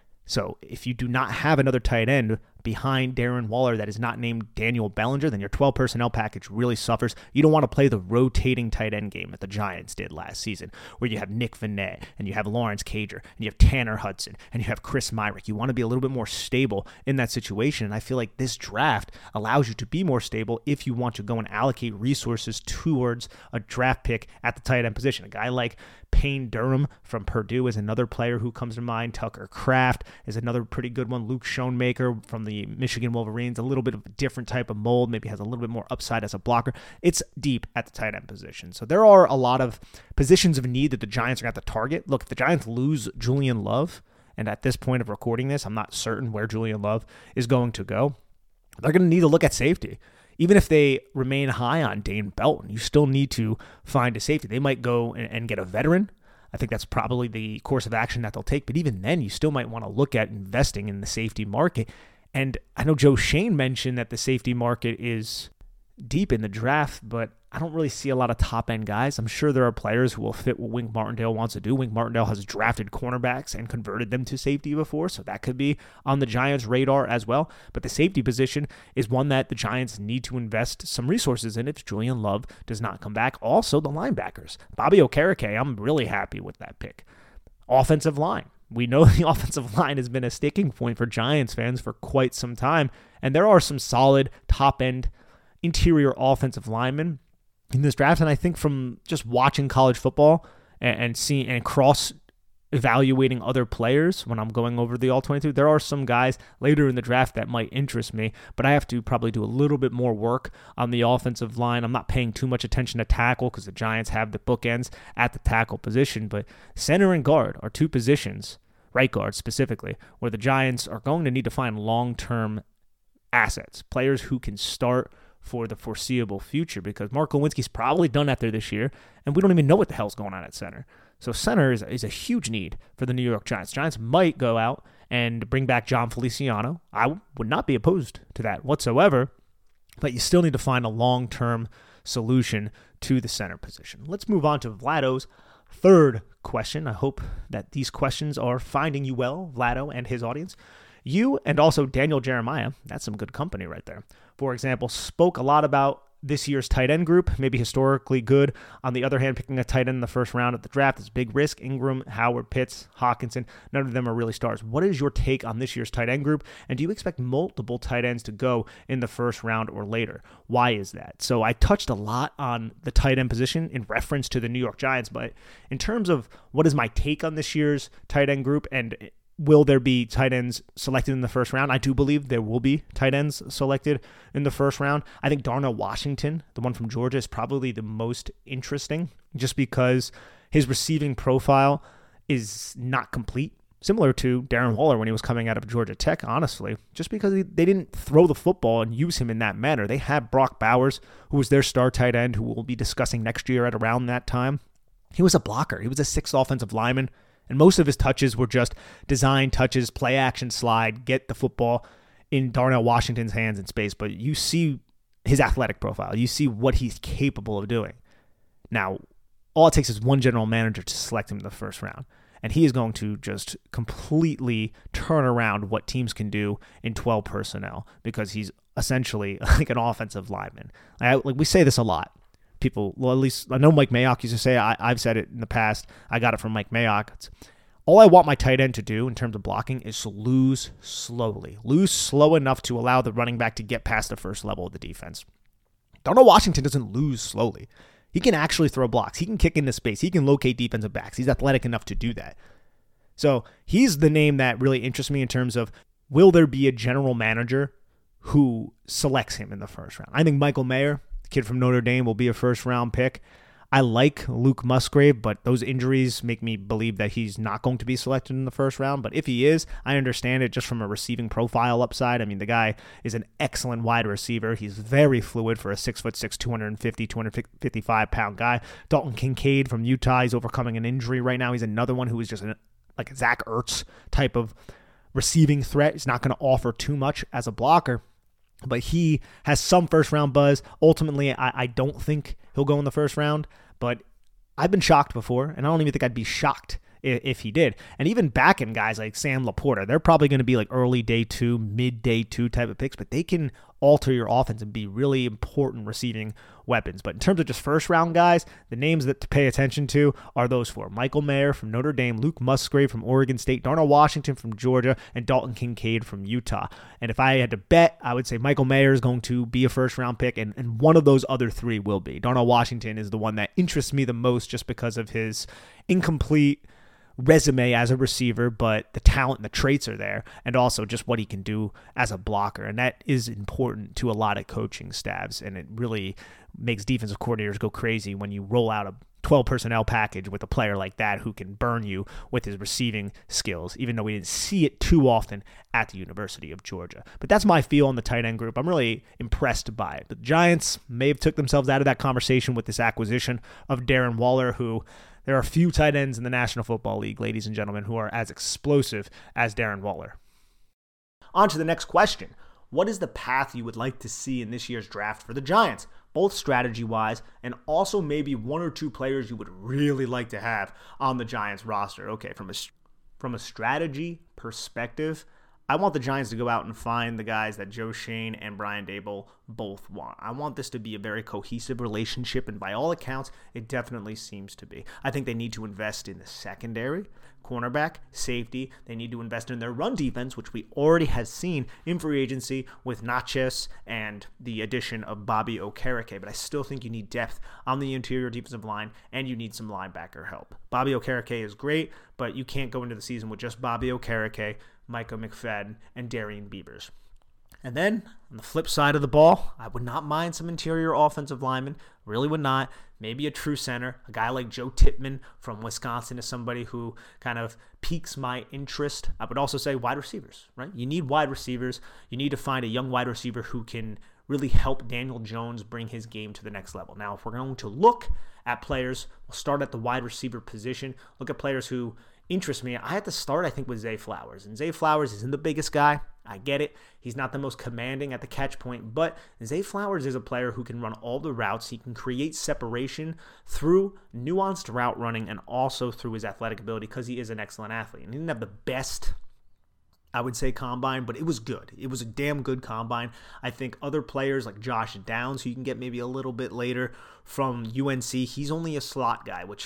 I: So if you do not have another tight end behind Darren Waller that is not named Daniel Bellinger, then your 12 personnel package really suffers. You don't want to play the rotating tight end game that the Giants did last season, where you have Nick Vannett, and you have Lawrence Cager, and you have Tanner Hudson, and you have Chris Myrick. You want to be a little bit more stable in that situation, and I feel like this draft allows you to be more stable if you want to go and allocate resources towards a draft pick at the tight end position. A guy like Payne Durham from Purdue is another player who comes to mind. Tucker Kraft is another pretty good one. Luke Schoonmaker from the Michigan Wolverines, a little bit of a different type of mold, maybe has a little bit more upside as a blocker. It's deep at the tight end position. So there are a lot of positions of need that the Giants are going to have to target. Look, if the Giants lose Julian Love, and at this point of recording this, I'm not certain where Julian Love is going to go, they're going to need to look at safety. Even if they remain high on Dane Belton, you still need to find a safety. They might go and get a veteran. I think that's probably the course of action that they'll take. But even then, you still might want to look at investing in the safety market. And I know Joe Shane mentioned that the safety market is deep in the draft, but I don't really see a lot of top-end guys. I'm sure there are players who will fit what Wink Martindale wants to do. Wink Martindale has drafted cornerbacks and converted them to safety before, so that could be on the Giants' radar as well. But the safety position is one that the Giants need to invest some resources in if Julian Love does not come back. Also, the linebackers. Bobby Okereke, I'm really happy with that pick. Offensive line. We know the offensive line has been a sticking point for Giants fans for quite some time, and there are some solid top-end interior offensive linemen in this draft. And I think from just watching college football and seeing and cross evaluating other players when I'm going over the All-22. There are some guys later in the draft that might interest me, but I have to probably do a little bit more work on the offensive line. I'm not paying too much attention to tackle because the Giants have the bookends at the tackle position, but center and guard are two positions, right guard specifically, where the Giants are going to need to find long-term assets, players who can start for the foreseeable future, because Mark Lewinsky's probably done after this year, and we don't even know what the hell's going on at center. So center is a huge need for the New York Giants. Giants might go out and bring back John Feliciano. I would not be opposed to that whatsoever, but you still need to find a long-term solution to the center position. Let's move on to Vlado's third question. I hope that these questions are finding you well, Vlado and his audience. You and also Daniel Jeremiah, that's some good company right there, for example, spoke a lot about this year's tight end group, maybe historically good. On the other hand, picking a tight end in the first round of the draft is big risk. Ingram, Howard, Pitts, Hawkinson, none of them are really stars. What is your take on this year's tight end group? And do you expect multiple tight ends to go in the first round or later? Why is that? So I touched a lot on the tight end position in reference to the New York Giants, but in terms of what is my take on this year's tight end group and will there be tight ends selected in the first round? I do believe there will be tight ends selected in the first round. I think Darnell Washington, the one from Georgia, is probably the most interesting just because his receiving profile is not complete. Similar to Darren Waller when he was coming out of Georgia Tech, honestly, just because they didn't throw the football and use him in that manner. They had Brock Bowers, who was their star tight end, who we'll be discussing next year at around that time. He was a blocker. He was a sixth offensive lineman. And most of his touches were just design touches, play action slide, get the football in Darnell Washington's hands in space. But you see his athletic profile. You see what he's capable of doing. Now, all it takes is one general manager to select him in the first round. And he is going to just completely turn around what teams can do in 12 personnel because he's essentially like an offensive lineman. Like we say this a lot. People, well, at least I know Mike Mayock used to say, I've said it in the past, I got it from Mike Mayock. All I want my tight end to do in terms of blocking is to lose slowly. Lose slow enough to allow the running back to get past the first level of the defense. Darnell Washington doesn't lose slowly. He can actually throw blocks. He can kick into space. He can locate defensive backs. He's athletic enough to do that. So he's the name that really interests me in terms of, will there be a general manager who selects him in the first round? I think Michael Mayer, kid from Notre Dame, will be a first-round pick. I like Luke Musgrave, but those injuries make me believe that he's not going to be selected in the first round. But if he is, I understand it just from a receiving profile upside. I mean, the guy is an excellent wide receiver. He's very fluid for a 6'6", 250, 255-pound guy. Dalton Kincaid from Utah, he's overcoming an injury right now. He's another one who is just like a Zach Ertz type of receiving threat. He's not going to offer too much as a blocker, but he has some first-round buzz. Ultimately, I don't think he'll go in the first round, but I've been shocked before, and I don't even think I'd be shocked if he did. And even back-end guys like Sam Laporta, they're probably going to be like early day 2, mid day 2 type of picks, but they can alter your offense and be really important receiving weapons. But in terms of just first-round guys, the names that to pay attention to are those four: Michael Mayer from Notre Dame, Luke Musgrave from Oregon State, Darnell Washington from Georgia, and Dalton Kincaid from Utah. And if I had to bet, I would say Michael Mayer is going to be a first-round pick, and one of those other three will be. Darnell Washington is the one that interests me the most just because of his incomplete resume as a receiver, but the talent and the traits are there, and also just what he can do as a blocker. And that is important to a lot of coaching staffs, and it really makes defensive coordinators go crazy when you roll out a 12 personnel package with a player like that who can burn you with his receiving skills, even though we didn't see it too often at the University of Georgia. But that's my feel on the tight end group. I'm really impressed by it. The Giants may have took themselves out of that conversation with this acquisition of Darren Waller, who there are few tight ends in the National Football League, ladies and gentlemen, who are as explosive as Darren Waller. On to the next question. What is the path you would like to see in this year's draft for the Giants, both strategy-wise and also maybe one or two players you would really like to have on the Giants roster? Okay, from a strategy perspective, I want the Giants to go out and find the guys that Joe Schoen and Brian Daboll both want. I want this to be a very cohesive relationship, and by all accounts, it definitely seems to be. I think they need to invest in the secondary, cornerback, safety. They need to invest in their run defense, which we already have seen in free agency with Natchez and the addition of Bobby Okereke. But I still think you need depth on the interior defensive line, and you need some linebacker help. Bobby Okereke is great, but you can't go into the season with just Bobby Okereke, Micah McFadden, and Darian Beavers. And then, on the flip side of the ball, I would not mind some interior offensive linemen. Really would not. Maybe a true center. A guy like Joe Tippmann from Wisconsin is somebody who kind of piques my interest. I would also say wide receivers, right? You need wide receivers. You need to find a young wide receiver who can really help Daniel Jones bring his game to the next level. Now, if we're going to look at players, we'll start at the wide receiver position. Look at players who interest me. I had to start, I think, with Zay Flowers. And Zay Flowers isn't the biggest guy. I get it. He's not the most commanding at the catch point, but Zay Flowers is a player who can run all the routes. He can create separation through nuanced route running and also through his athletic ability because he is an excellent athlete. And he didn't have the best, I would say, combine, but it was good. It was a damn good combine. I think other players like Josh Downs, who you can get maybe a little bit later from UNC, he's only a slot guy, which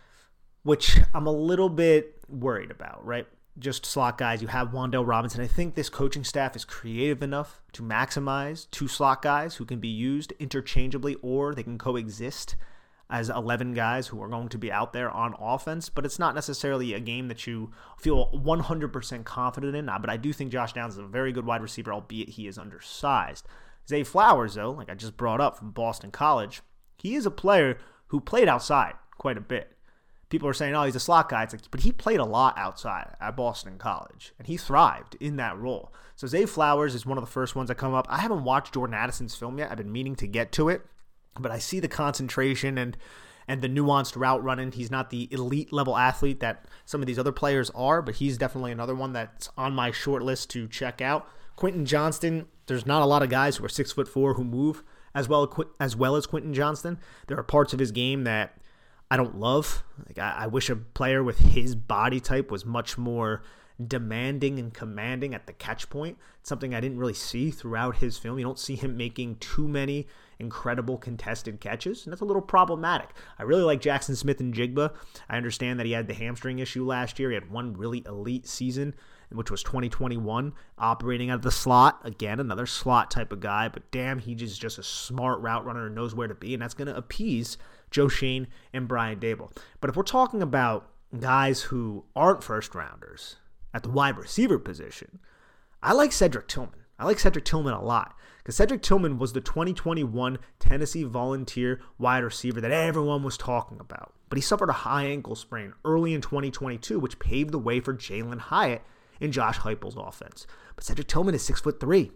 I: I'm a little bit worried about, right? Just slot guys. You have Wan'Dale Robinson. I think this coaching staff is creative enough to maximize two slot guys who can be used interchangeably, or they can coexist as 11 guys who are going to be out there on offense. But it's not necessarily a game that you feel 100% confident in. But I do think Josh Downs is a very good wide receiver, albeit he is undersized. Zay Flowers, though, like I just brought up from Boston College, he is a player who played outside quite a bit. People are saying, oh, he's a slot guy. It's like, but he played a lot outside at Boston College, and he thrived in that role. So Zay Flowers is one of the first ones that come up. I haven't watched Jordan Addison's film yet. I've been meaning to get to it, but I see the concentration and the nuanced route running. He's not the elite level athlete that some of these other players are, but he's definitely another one that's on my short list to check out. Quentin Johnston, there's not a lot of guys who are 6'4" who move as well as Quentin Johnston. There are parts of his game that I don't love. Like I wish a player with his body type was much more demanding and commanding at the catch point. It's something I didn't really see throughout his film. You don't see him making too many incredible contested catches, and that's a little problematic. I really like Jackson Smith-Njigba. I understand that he had the hamstring issue last year. He had one really elite season, which was 2021, operating out of the slot. Again, another slot type of guy, but damn, he is just a smart route runner and knows where to be, and that's going to appease Joe Schoen and Brian Daboll. But if we're talking about guys who aren't first rounders at the wide receiver position, I like Cedric Tillman. I like Cedric Tillman a lot because Cedric Tillman was the 2021 Tennessee Volunteer wide receiver that everyone was talking about. But he suffered a high ankle sprain early in 2022, which paved the way for Jalen Hyatt in Josh Heupel's offense. But Cedric Tillman is 6'3",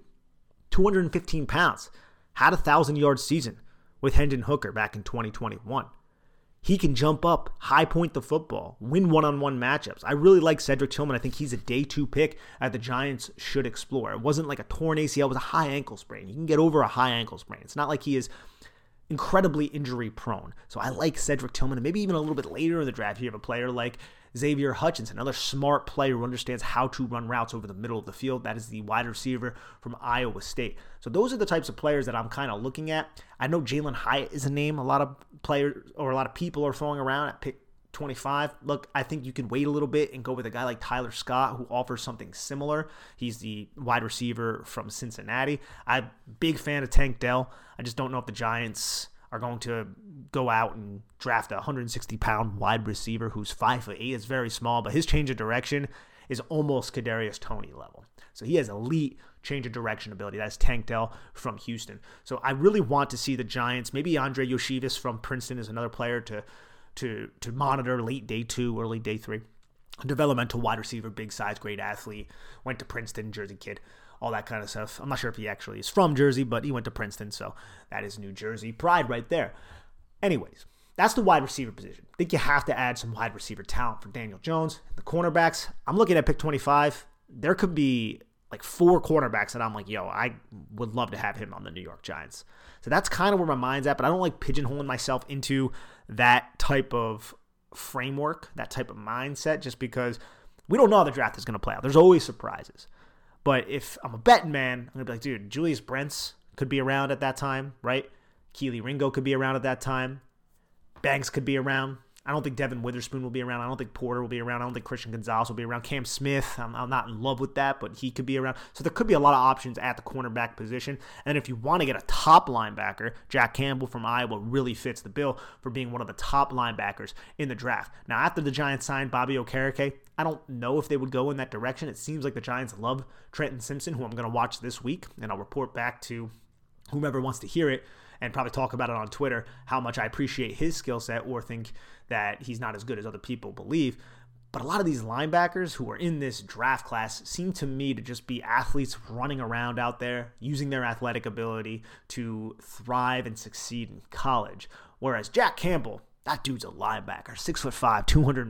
I: 215 pounds, had a 1,000-yard season with Hendon Hooker back in 2021. He can jump up, high point the football, win one-on-one matchups. I really like Cedric Tillman. I think he's a day 2 pick that the Giants should explore. It wasn't like a torn ACL, it was a high ankle sprain. You can get over a high ankle sprain. It's not like he is incredibly injury prone. So I like Cedric Tillman, and maybe even a little bit later in the draft, you have a player like Xavier Hutchinson, another smart player who understands how to run routes over the middle of the field. That is the wide receiver from Iowa State. So those are the types of players that I'm kind of looking at. I know Jalen Hyatt is a name a lot of players or a lot of people are throwing around at pick 25. Look, I think you can wait a little bit and go with a guy like Tyler Scott who offers something similar. He's the wide receiver from Cincinnati. I'm a big fan of Tank Dell. I just don't know if the Giants are going to go out and draft a 160-pound wide receiver who's 5'8". It's very small, but his change of direction is almost Kadarius Toney level. So he has elite change of direction ability. That's Tank Dell from Houston. So I really want to see the Giants. Maybe Andre Yoshivas from Princeton is another player to monitor late day 2, early day 3. A developmental wide receiver, big size, great athlete. Went to Princeton, Jersey kid. All that kind of stuff. I'm not sure if he actually is from Jersey, but he went to Princeton, so that is New Jersey pride right there. Anyways, that's the wide receiver position. I think you have to add some wide receiver talent for Daniel Jones. The cornerbacks, I'm looking at pick 25. There could be like 4 cornerbacks that I'm like, yo, I would love to have him on the New York Giants. So that's kind of where my mind's at, but I don't like pigeonholing myself into that type of framework, that type of mindset, just because we don't know how the draft is going to play out. There's always surprises. But if I'm a betting man, I'm going to be like, dude, Julius Brents could be around at that time, right? Keely Ringo could be around at that time. Banks could be around. I don't think Devin Witherspoon will be around. I don't think Porter will be around. I don't think Christian Gonzalez will be around. Cam Smith, I'm not in love with that, but he could be around. So there could be a lot of options at the cornerback position. And if you want to get a top linebacker, Jack Campbell from Iowa really fits the bill for being one of the top linebackers in the draft. Now, after the Giants signed Bobby Okereke, I don't know if they would go in that direction. It seems like the Giants love Trenton Simpson, who I'm going to watch this week, and I'll report back to whomever wants to hear it and probably talk about it on Twitter, how much I appreciate his skill set or think that he's not as good as other people believe. But a lot of these linebackers who are in this draft class seem to me to just be athletes running around out there, using their athletic ability to thrive and succeed in college. Whereas Jack Campbell, that dude's a linebacker, 6'5",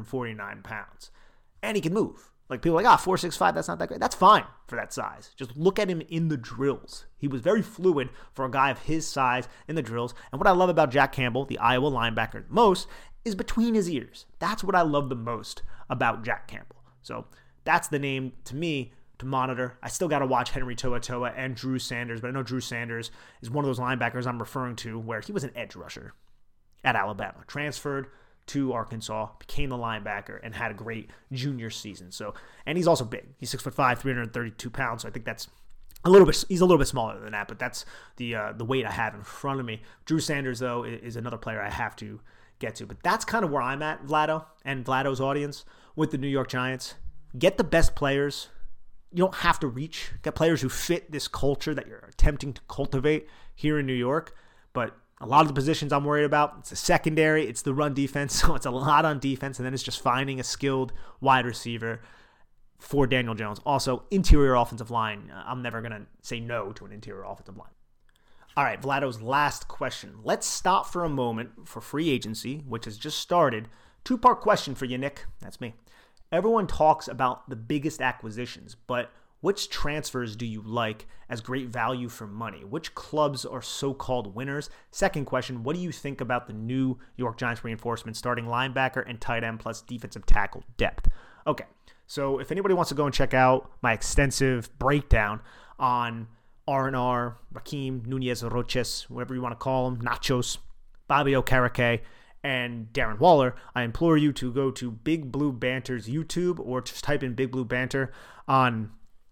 I: 249 pounds. And he can move. Like, people are like, 4'6", that's not that great. That's fine for that size. Just look at him in the drills. He was very fluid for a guy of his size in the drills. And what I love about Jack Campbell, the Iowa linebacker, most is between his ears. That's what I love the most about Jack Campbell. So that's the name to me to monitor. I still got to watch Henry To'oTo'o and Drew Sanders, but I know Drew Sanders is one of those linebackers I'm referring to where he was an edge rusher at Alabama, transferred to Arkansas, became the linebacker, and had a great junior season. So, and he's also big. He's 6'5", 332 pounds. So I think that's he's a little bit smaller than that, but that's the weight I have in front of me. Drew Sanders, though, is another player I have to get to. But that's kind of where I'm at, Vlado, and Vlado's audience with the New York Giants. Get the best players. You don't have to reach. Get players who fit this culture that you're attempting to cultivate here in New York. But a lot of the positions I'm worried about, it's the secondary, it's the run defense, so it's a lot on defense, and then it's just finding a skilled wide receiver for Daniel Jones. Also, interior offensive line. I'm never going to say no to an interior offensive line. All right, Vlado's last question. Let's stop for a moment for free agency, which has just started. Two-part question for you, Nick. That's me. Everyone talks about the biggest acquisitions, but which transfers do you like as great value for money? Which clubs are so-called winners? Second question, what do you think about the New York Giants reinforcements, starting linebacker and tight end plus defensive tackle depth? Okay, so if anybody wants to go and check out my extensive breakdown on R&R, Raheem Nunez-Roches, whatever you want to call him, Nachos, Bobby Okereke, and Darren Waller, I implore you to go to Big Blue Banter's YouTube or just type in Big Blue Banter on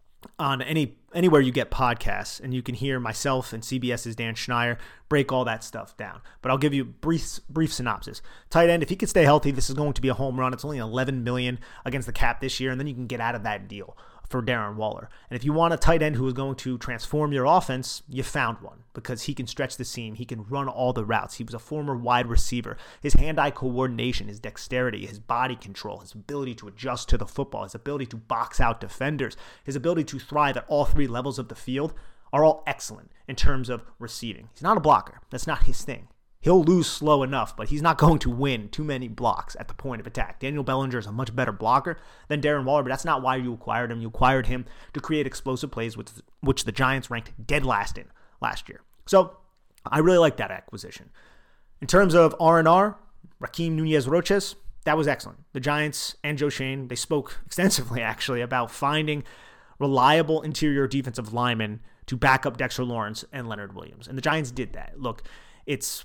I: anywhere you get podcasts, and you can hear myself and CBS's Dan Schneier break all that stuff down. But I'll give you a brief synopsis. Tight end, if he can stay healthy, this is going to be a home run. It's only $11 million against the cap this year, and then you can get out of that deal for Darren Waller. And if you want a tight end who is going to transform your offense, you found one, because he can stretch the seam. He can run all the routes. He was a former wide receiver. His hand-eye coordination, his dexterity, his body control, his ability to adjust to the football, his ability to box out defenders, his ability to thrive at all three levels of the field are all excellent in terms of receiving. He's not a blocker. That's not his thing. He'll lose slow enough, but he's not going to win too many blocks at the point of attack. Daniel Bellinger is a much better blocker than Darren Waller, but that's not why you acquired him. You acquired him to create explosive plays, which the Giants ranked dead last in last year. So I really like that acquisition. In terms of R&R, Raheem Nunez-Roches, that was excellent. The Giants and Joe Schoen, they spoke extensively, actually, about finding reliable interior defensive linemen to back up Dexter Lawrence and Leonard Williams. And the Giants did that. Look, it's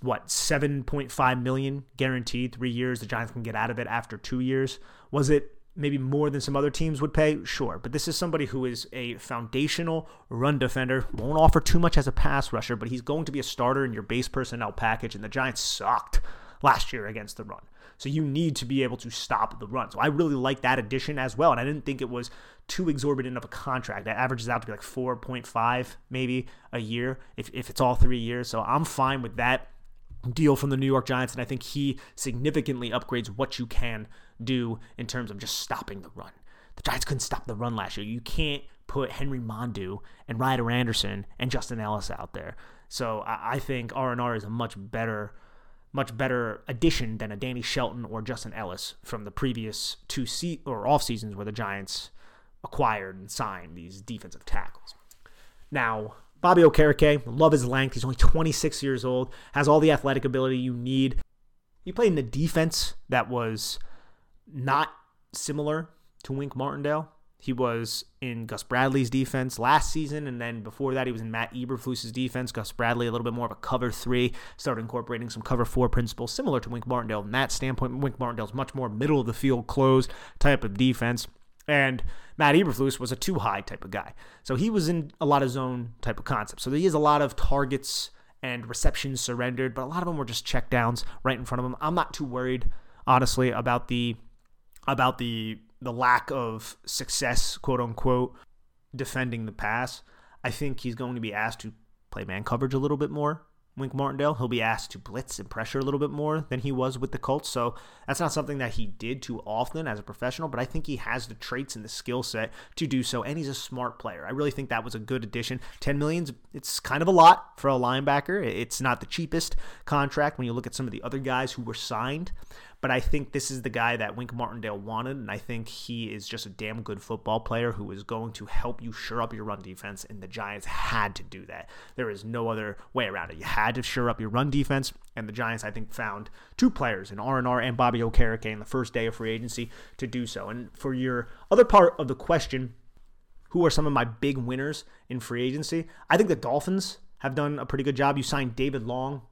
I: $7.5 million guaranteed, 3 years. The Giants can get out of it after 2 years. Was it maybe more than some other teams would pay? Sure. But this is somebody who is a foundational run defender, won't offer too much as a pass rusher, but he's going to be a starter in your base personnel package, and the Giants sucked last year against the run. So you need to be able to stop the run. So I really like that addition as well, and I didn't think it was too exorbitant of a contract. That averages out to be like 4.5 maybe a year if it's all 3 years. So I'm fine with that deal from the New York Giants, and I think he significantly upgrades what you can do in terms of just stopping the run. The Giants couldn't stop the run last year. You can't put Henry Mondu and Ryder Anderson and Justin Ellis out there. So I think R&R is a much better addition than a Danny Shelton or Justin Ellis from the previous two off seasons where the Giants acquired and signed these defensive tackles. Now, Bobby Okereke, love his length. He's only 26 years old, has all the athletic ability you need. He played in the defense that was not similar to Wink Martindale. He was in Gus Bradley's defense last season, and then before that, he was in Matt Eberflus's defense. Gus Bradley, a little bit more of a cover 3, started incorporating some cover 4 principles, similar to Wink Martindale in that standpoint. Wink Martindale's much more middle of the field, closed type of defense, and Matt Eberflus was a 2-high type of guy. So he was in a lot of zone type of concepts. So he has a lot of targets and receptions surrendered, but a lot of them were just check downs right in front of him. I'm not too worried, honestly, about the lack of success, quote unquote, defending the pass. I think he's going to be asked to play man coverage a little bit more. Wink Martindale, he'll be asked to blitz and pressure a little bit more than he was with the Colts. So that's not something that he did too often as a professional, but I think he has the traits and the skill set to do so, and he's a smart player. I really think that was a good addition. $10 million, it's kind of a lot for a linebacker. It's not the cheapest contract when you look at some of the other guys who were signed, but I think this is the guy that Wink Martindale wanted, and I think he is just a damn good football player who is going to help you shore up your run defense, and the Giants had to do that. There is no other way around it. You had to shore up your run defense, and the Giants, I think, found 2 players in R&R and Bobby Okereke in the first day of free agency to do so. And for your other part of the question, who are some of my big winners in free agency? I think the Dolphins have done a pretty good job. You signed David Long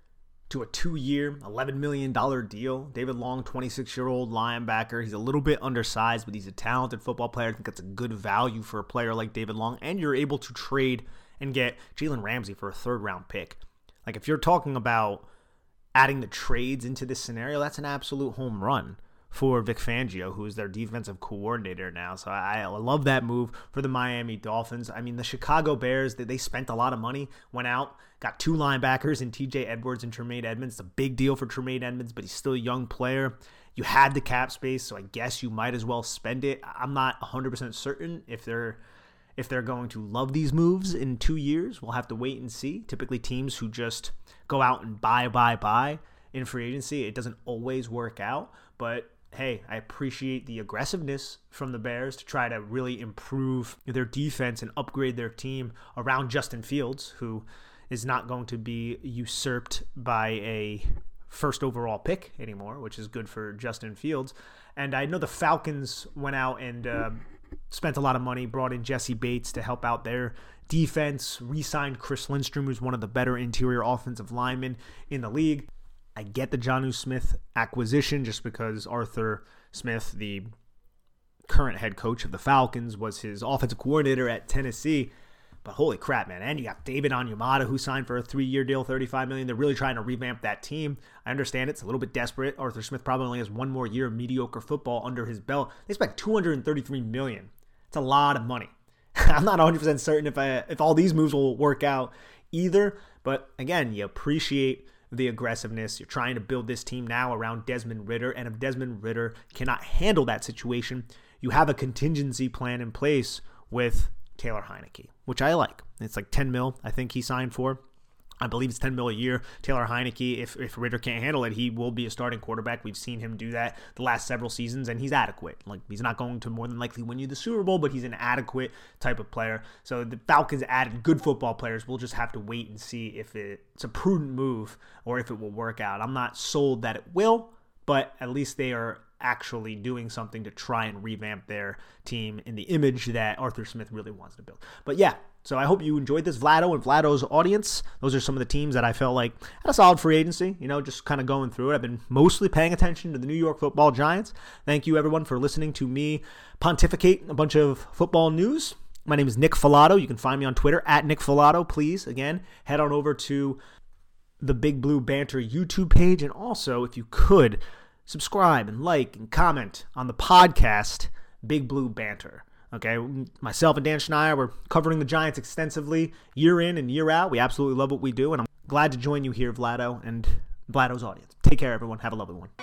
I: to a 2-year, $11 million deal. David Long, 26-year-old linebacker. He's a little bit undersized, but he's a talented football player. I think that's a good value for a player like David Long. And you're able to trade and get Jalen Ramsey for a 3rd-round pick. Like, if you're talking about adding the trades into this scenario, that's an absolute home run for Vic Fangio, who is their defensive coordinator now. So I love that move for the Miami Dolphins. I mean, the Chicago Bears, they spent a lot of money, went out, got 2 linebackers in TJ Edwards and Tremaine Edmonds. It's a big deal for Tremaine Edmonds, but he's still a young player. You had the cap space, so I guess you might as well spend it. I'm not 100% certain if they're going to love these moves in 2 years. We'll have to wait and see. Typically, teams who just go out and buy in free agency, it doesn't always work out, but hey, I appreciate the aggressiveness from the Bears to try to really improve their defense and upgrade their team around Justin Fields, who is not going to be usurped by a 1st overall pick anymore, which is good for Justin Fields. And I know the Falcons went out and spent a lot of money, brought in Jesse Bates to help out their defense, re-signed Chris Lindstrom, who's one of the better interior offensive linemen in the league. I get the Jonnu Smith acquisition just because Arthur Smith, the current head coach of the Falcons, was his offensive coordinator at Tennessee. But holy crap, man. And you got David Onyemata, who signed for a 3-year deal, $35 million. They're really trying to revamp that team. I understand it's a little bit desperate. Arthur Smith probably only has 1 more year of mediocre football under his belt. They spent $233 million. It's a lot of money. I'm not 100% certain if all these moves will work out either. But again, you appreciate the aggressiveness. You're trying to build this team now around Desmond Ridder, and if Desmond Ridder cannot handle that situation, you have a contingency plan in place with Taylor Heineke, which I like. It's like $10 million I think he signed for. I believe it's $10 million a year. Taylor Heineke, if Ridder can't handle it, he will be a starting quarterback. We've seen him do that the last several seasons, and he's adequate. Like, he's not going to more than likely win you the Super Bowl, but he's an adequate type of player. So the Falcons added good football players. We'll just have to wait and see if it's a prudent move or if it will work out. I'm not sold that it will, but at least they are actually doing something to try and revamp their team in the image that Arthur Smith really wants to build. But yeah, so I hope you enjoyed this, Vlado and Vlado's audience. Those are some of the teams that I felt like had a solid free agency, just kind of going through it. I've been mostly paying attention to the New York Football Giants. Thank you, everyone, for listening to me pontificate a bunch of football news. My name is Nick Filato. You can find me on Twitter at Nick Filato. Please, again, head on over to the Big Blue Banter YouTube page. And also, if you could, subscribe and like and comment on the podcast Big Blue Banter. Okay, myself and Dan Schneier, we're covering the Giants extensively year in and year out. We absolutely love what we do, and I'm glad to join you here, Vlado, and Vlado's audience. Take care, everyone. Have a lovely one.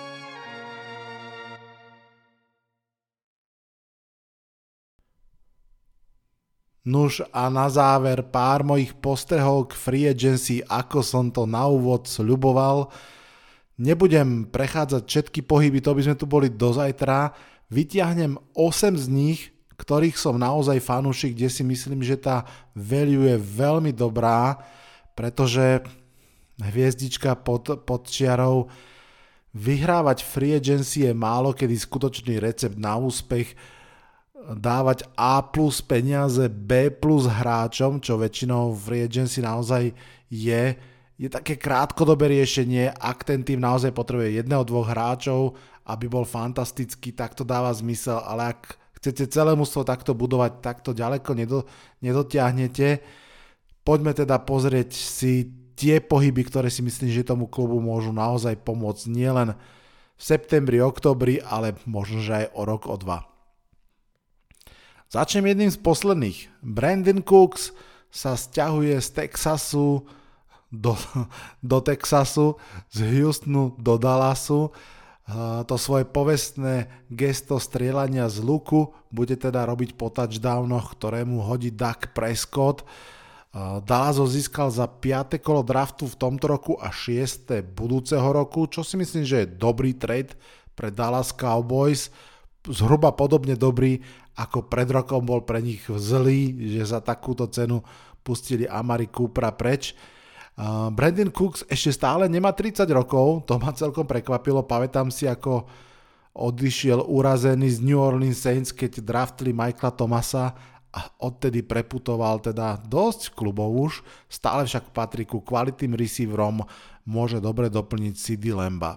C: Nuž a na záver pár mojich postrehov k free agency, ako som to na úvod sľuboval. Nebudem prechádzať všetky pohyby, to by sme tu boli do zajtra. Vytiahnem 8 z nich, ktorých som naozaj fanúšik, kde si myslím, že tá value je veľmi dobrá, pretože hviezdička pod čiarou, vyhrávať free agency je málo kedy skutočný recept na úspech. dávať A plus peniaze B plus hráčom, čo väčšinou v free agency naozaj je také krátkodobé riešenie. Ak ten tým naozaj potrebuje 1-2 hráčov, aby bol fantastický, tak to dáva zmysel, ale ak chcete celé mužstvo takto budovať, tak to ďaleko nedotiahnete. Poďme teda pozrieť si tie pohyby, ktoré si myslím, že tomu klubu môžu naozaj pomôcť nielen v septembri, oktobri, ale možno, že aj o rok, o dva. Začnem jedným z posledných. Brandon Cooks sa sťahuje z Texasu do Texasu, z Houstonu do Dallasu. To svoje povestné gesto strieľania z luku bude teda robiť po touchdownoch, ktorému hodí Dak Prescott. Dallas ho získal za 5. kolo draftu v tomto roku a 6. budúceho roku, čo si myslím, že je dobrý trade pre Dallas Cowboys. Zhruba podobne dobrý, ako pred rokom bol pre nich zlý, že za takúto cenu pustili Amari Coopera preč. Brandon Cooks ešte stále nemá 30 rokov, to ma celkom prekvapilo. Pamätám si, ako odišiel urazený z New Orleans Saints, keď draftli Michaela Thomasa a odtedy preputoval teda dosť klubov už. Stále však patrí ku kvalitným receiverom, môže dobre doplniť CD Lamba.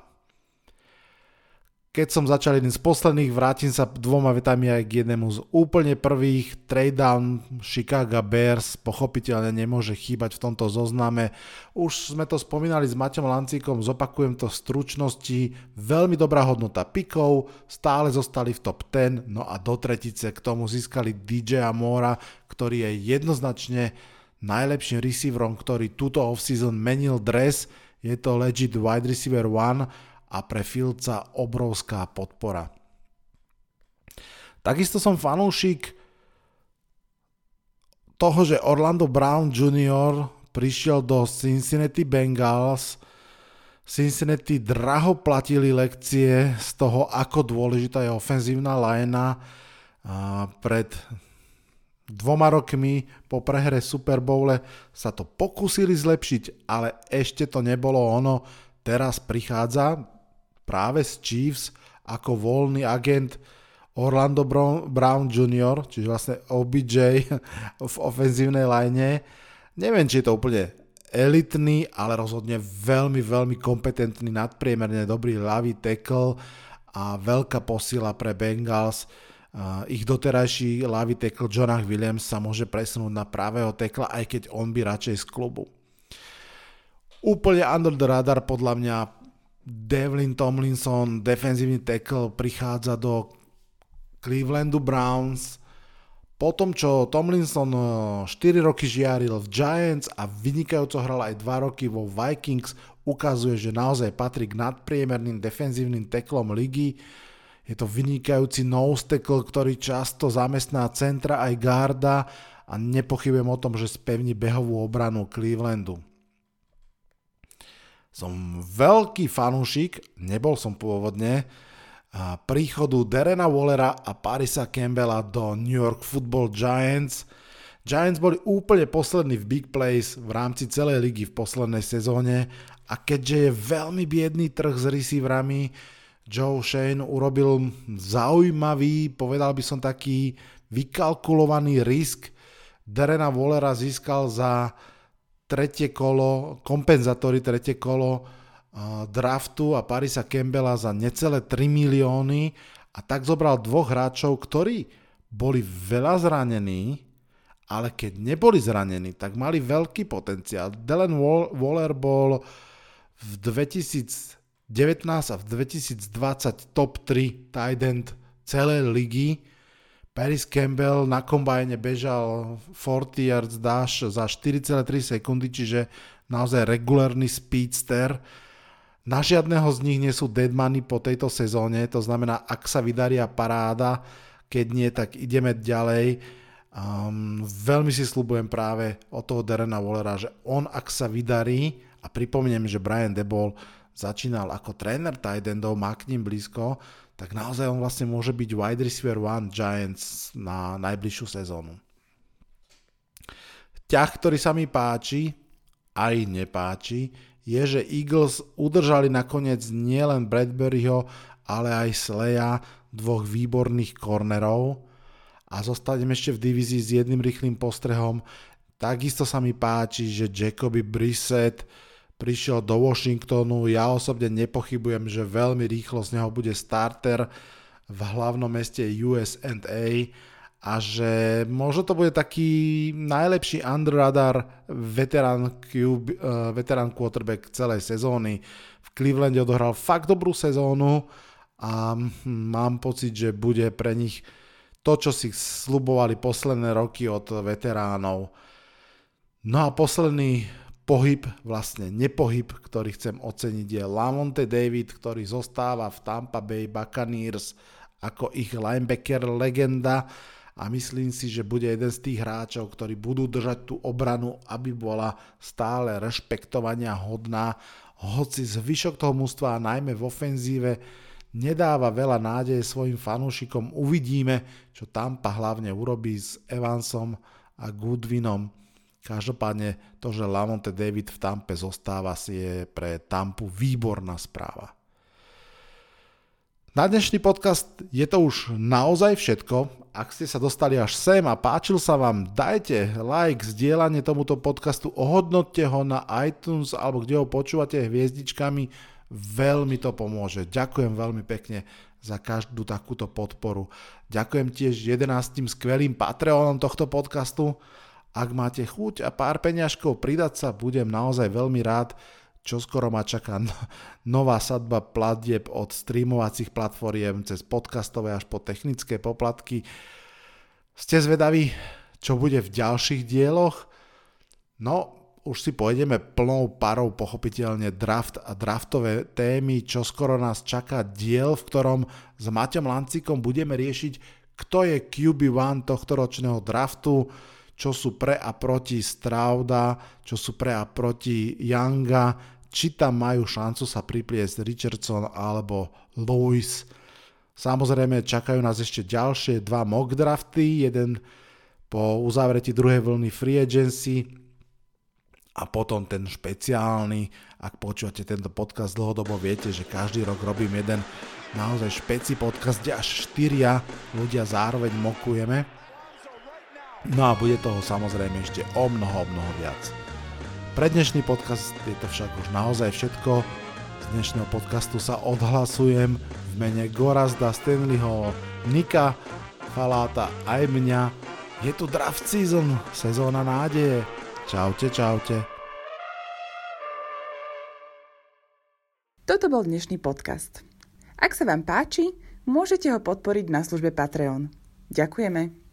C: Keď som začal jeden z posledných, vrátim sa 2 vetami aj k jednému z úplne prvých. Trade down Chicago Bears pochopiteľne nemôže chýbať v tomto zozname. Už sme to spomínali s Maťom Lancíkom, zopakujem to v stručnosti. Veľmi dobrá hodnota pikov, stále zostali v top 10, no a do tretice k tomu získali DJ Moora, ktorý je jednoznačne najlepším receiverom, ktorý túto offseason menil dres. Je to legit wide receiver 1 a pre Fieldsa obrovská podpora. Takisto som fanúšik toho, že Orlando Brown Jr. prišiel do Cincinnati Bengals. Cincinnati draho platili lekcie z toho, ako dôležitá je ofenzívna linea. Pred 2 rokmi po prehre Super Bowle sa to pokúsili zlepšiť, ale ešte to nebolo ono. Teraz prichádza práve z Chiefs ako voľný agent Orlando Brown Jr., čiže vlastne OBJ v ofenzívnej line. Neviem, či je to úplne elitný, ale rozhodne veľmi, veľmi kompetentný, nadpriemerne dobrý ľavý tackle a veľká posila pre Bengals. Ich doterajší ľavý tackle Jonah Williams sa môže presunúť na pravého tackla, aj keď on by radšej z klubu. Úplne under the radar podľa mňa Devlin Tomlinson, defenzívny tackle, prichádza do Clevelandu Browns. Po tom, čo Tomlinson 4 roky žiaril v Giants a vynikajúco hral aj 2 roky vo Vikings, ukazuje, že naozaj patrí k nadpriemerným defenzívnym tacklom ligy. Je to vynikajúci nose tackle, ktorý často zamestná centra aj garda a nepochybujem o tom, že spevní behovú obranu Clevelandu. Som veľký fanúšik, nebol som pôvodne, príchodu Darrena Wallera a Parisa Campbella do New York Football Giants. Giants boli úplne poslední v big plays v rámci celej ligy v poslednej sezóne a keďže je veľmi biedný trh s receiverami, Joe Shane urobil zaujímavý, povedal by som taký vykalkulovaný risk. Darrena Wallera získal za kompenzátory tretie kolo draftu a Parisa Campbella za necelé 3 milióny a tak zobral 2 hráčov, ktorí boli veľa zranení, ale keď neboli zranení, tak mali veľký potenciál. Darren Waller bol v 2019 a v 2020 top 3 tight end celej ligy. Paris Campbell na kombajne bežal 40 yards dash za 4,3 sekundy, čiže naozaj regulárny speedster. Na žiadneho z nich nie sú dead money po tejto sezóne, to znamená, ak sa vydaria paráda, keď nie, tak ideme ďalej. Veľmi si sľubujem práve od toho Darrena Wallera, že on, ak sa vydarí, a pripomínam, že Brian Daboll začínal ako tréner tight endov, má k ním blízko, tak naozaj on vlastne môže byť wide receiver 1 Giants na najbližšiu sezónu. Ťah, ktorý sa mi páči, aj nepáči, je, že Eagles udržali nakoniec nielen Bradburyho, ale aj Sleja, 2 výborných cornerov. A zostanem ešte v divízii s jedným rýchlym postrehom. Takisto sa mi páči, že Jacoby Brissett prišiel do Washingtonu. Ja osobne nepochybujem, že veľmi rýchlo z neho bude starter v hlavnom meste USA a že možno to bude taký najlepší under radar veterán quarterback celej sezóny. V Clevelande odohral fakt dobrú sezónu a mám pocit, že bude pre nich to, čo si sľubovali posledné roky od veteránov. No a posledný pohyb, vlastne nepohyb, ktorý chcem oceniť, je Lavonte David, ktorý zostáva v Tampa Bay Buccaneers ako ich linebacker legenda a myslím si, že bude jeden z tých hráčov, ktorí budú držať tú obranu, aby bola stále rešpektovania hodná, hoci zvyšok toho mužstva, najmä v ofenzíve, nedáva veľa nádeje svojim fanúšikom. Uvidíme, čo Tampa hlavne urobí s Evansom a Goodwinom. Každopádne to, že Lavonte David v Tampe zostáva, si je pre Tampu výborná správa. Na dnešný podcast je to už naozaj všetko. Ak ste sa dostali až sem a páčil sa vám, dajte like, zdieľanie tomuto podcastu, ohodnoťte ho na iTunes alebo kde ho počúvate hviezdičkami, veľmi to pomôže. Ďakujem veľmi pekne za každú takúto podporu. Ďakujem tiež 11 skvelým Patreonom tohto podcastu. Ak máte chuť a pár peňažkov pridať sa, budem naozaj veľmi rád. Čoskoro ma čaká nová sadba platieb od streamovacích platformiem cez podcastové až po technické poplatky. Ste zvedaví, čo bude v ďalších dieloch? No, už si pôjdeme plnou parou pochopiteľne draft a draftové témy. Čoskoro nás čaká diel, v ktorom s Maťom Lancíkom budeme riešiť, kto je QB1 tohtoročného draftu, čo sú pre a proti Strouda, čo sú pre a proti Younga, či tam majú šancu sa pripliesť Richardson alebo Lewis. Samozrejme čakajú nás ešte ďalšie 2 mock drafty, jeden po uzavretí druhej vlny free agency a potom ten špeciálny. Ak počúvate tento podcast dlhodobo, viete, že každý rok robím jeden naozaj špeci podcast, kde až 4 ľudia zároveň mokujeme. No a bude toho samozrejme ešte o mnoho viac. Pre dnešný podcast je to však už naozaj všetko. Z dnešného podcastu sa odhlasujem v mene Gorazda, Stanleyho, Nika, Faláta aj mňa. Je tu draft season, sezóna nádeje. Čaute.
D: Toto bol dnešný podcast. Ak sa vám páči, môžete ho podporiť na službe Patreon. Ďakujeme.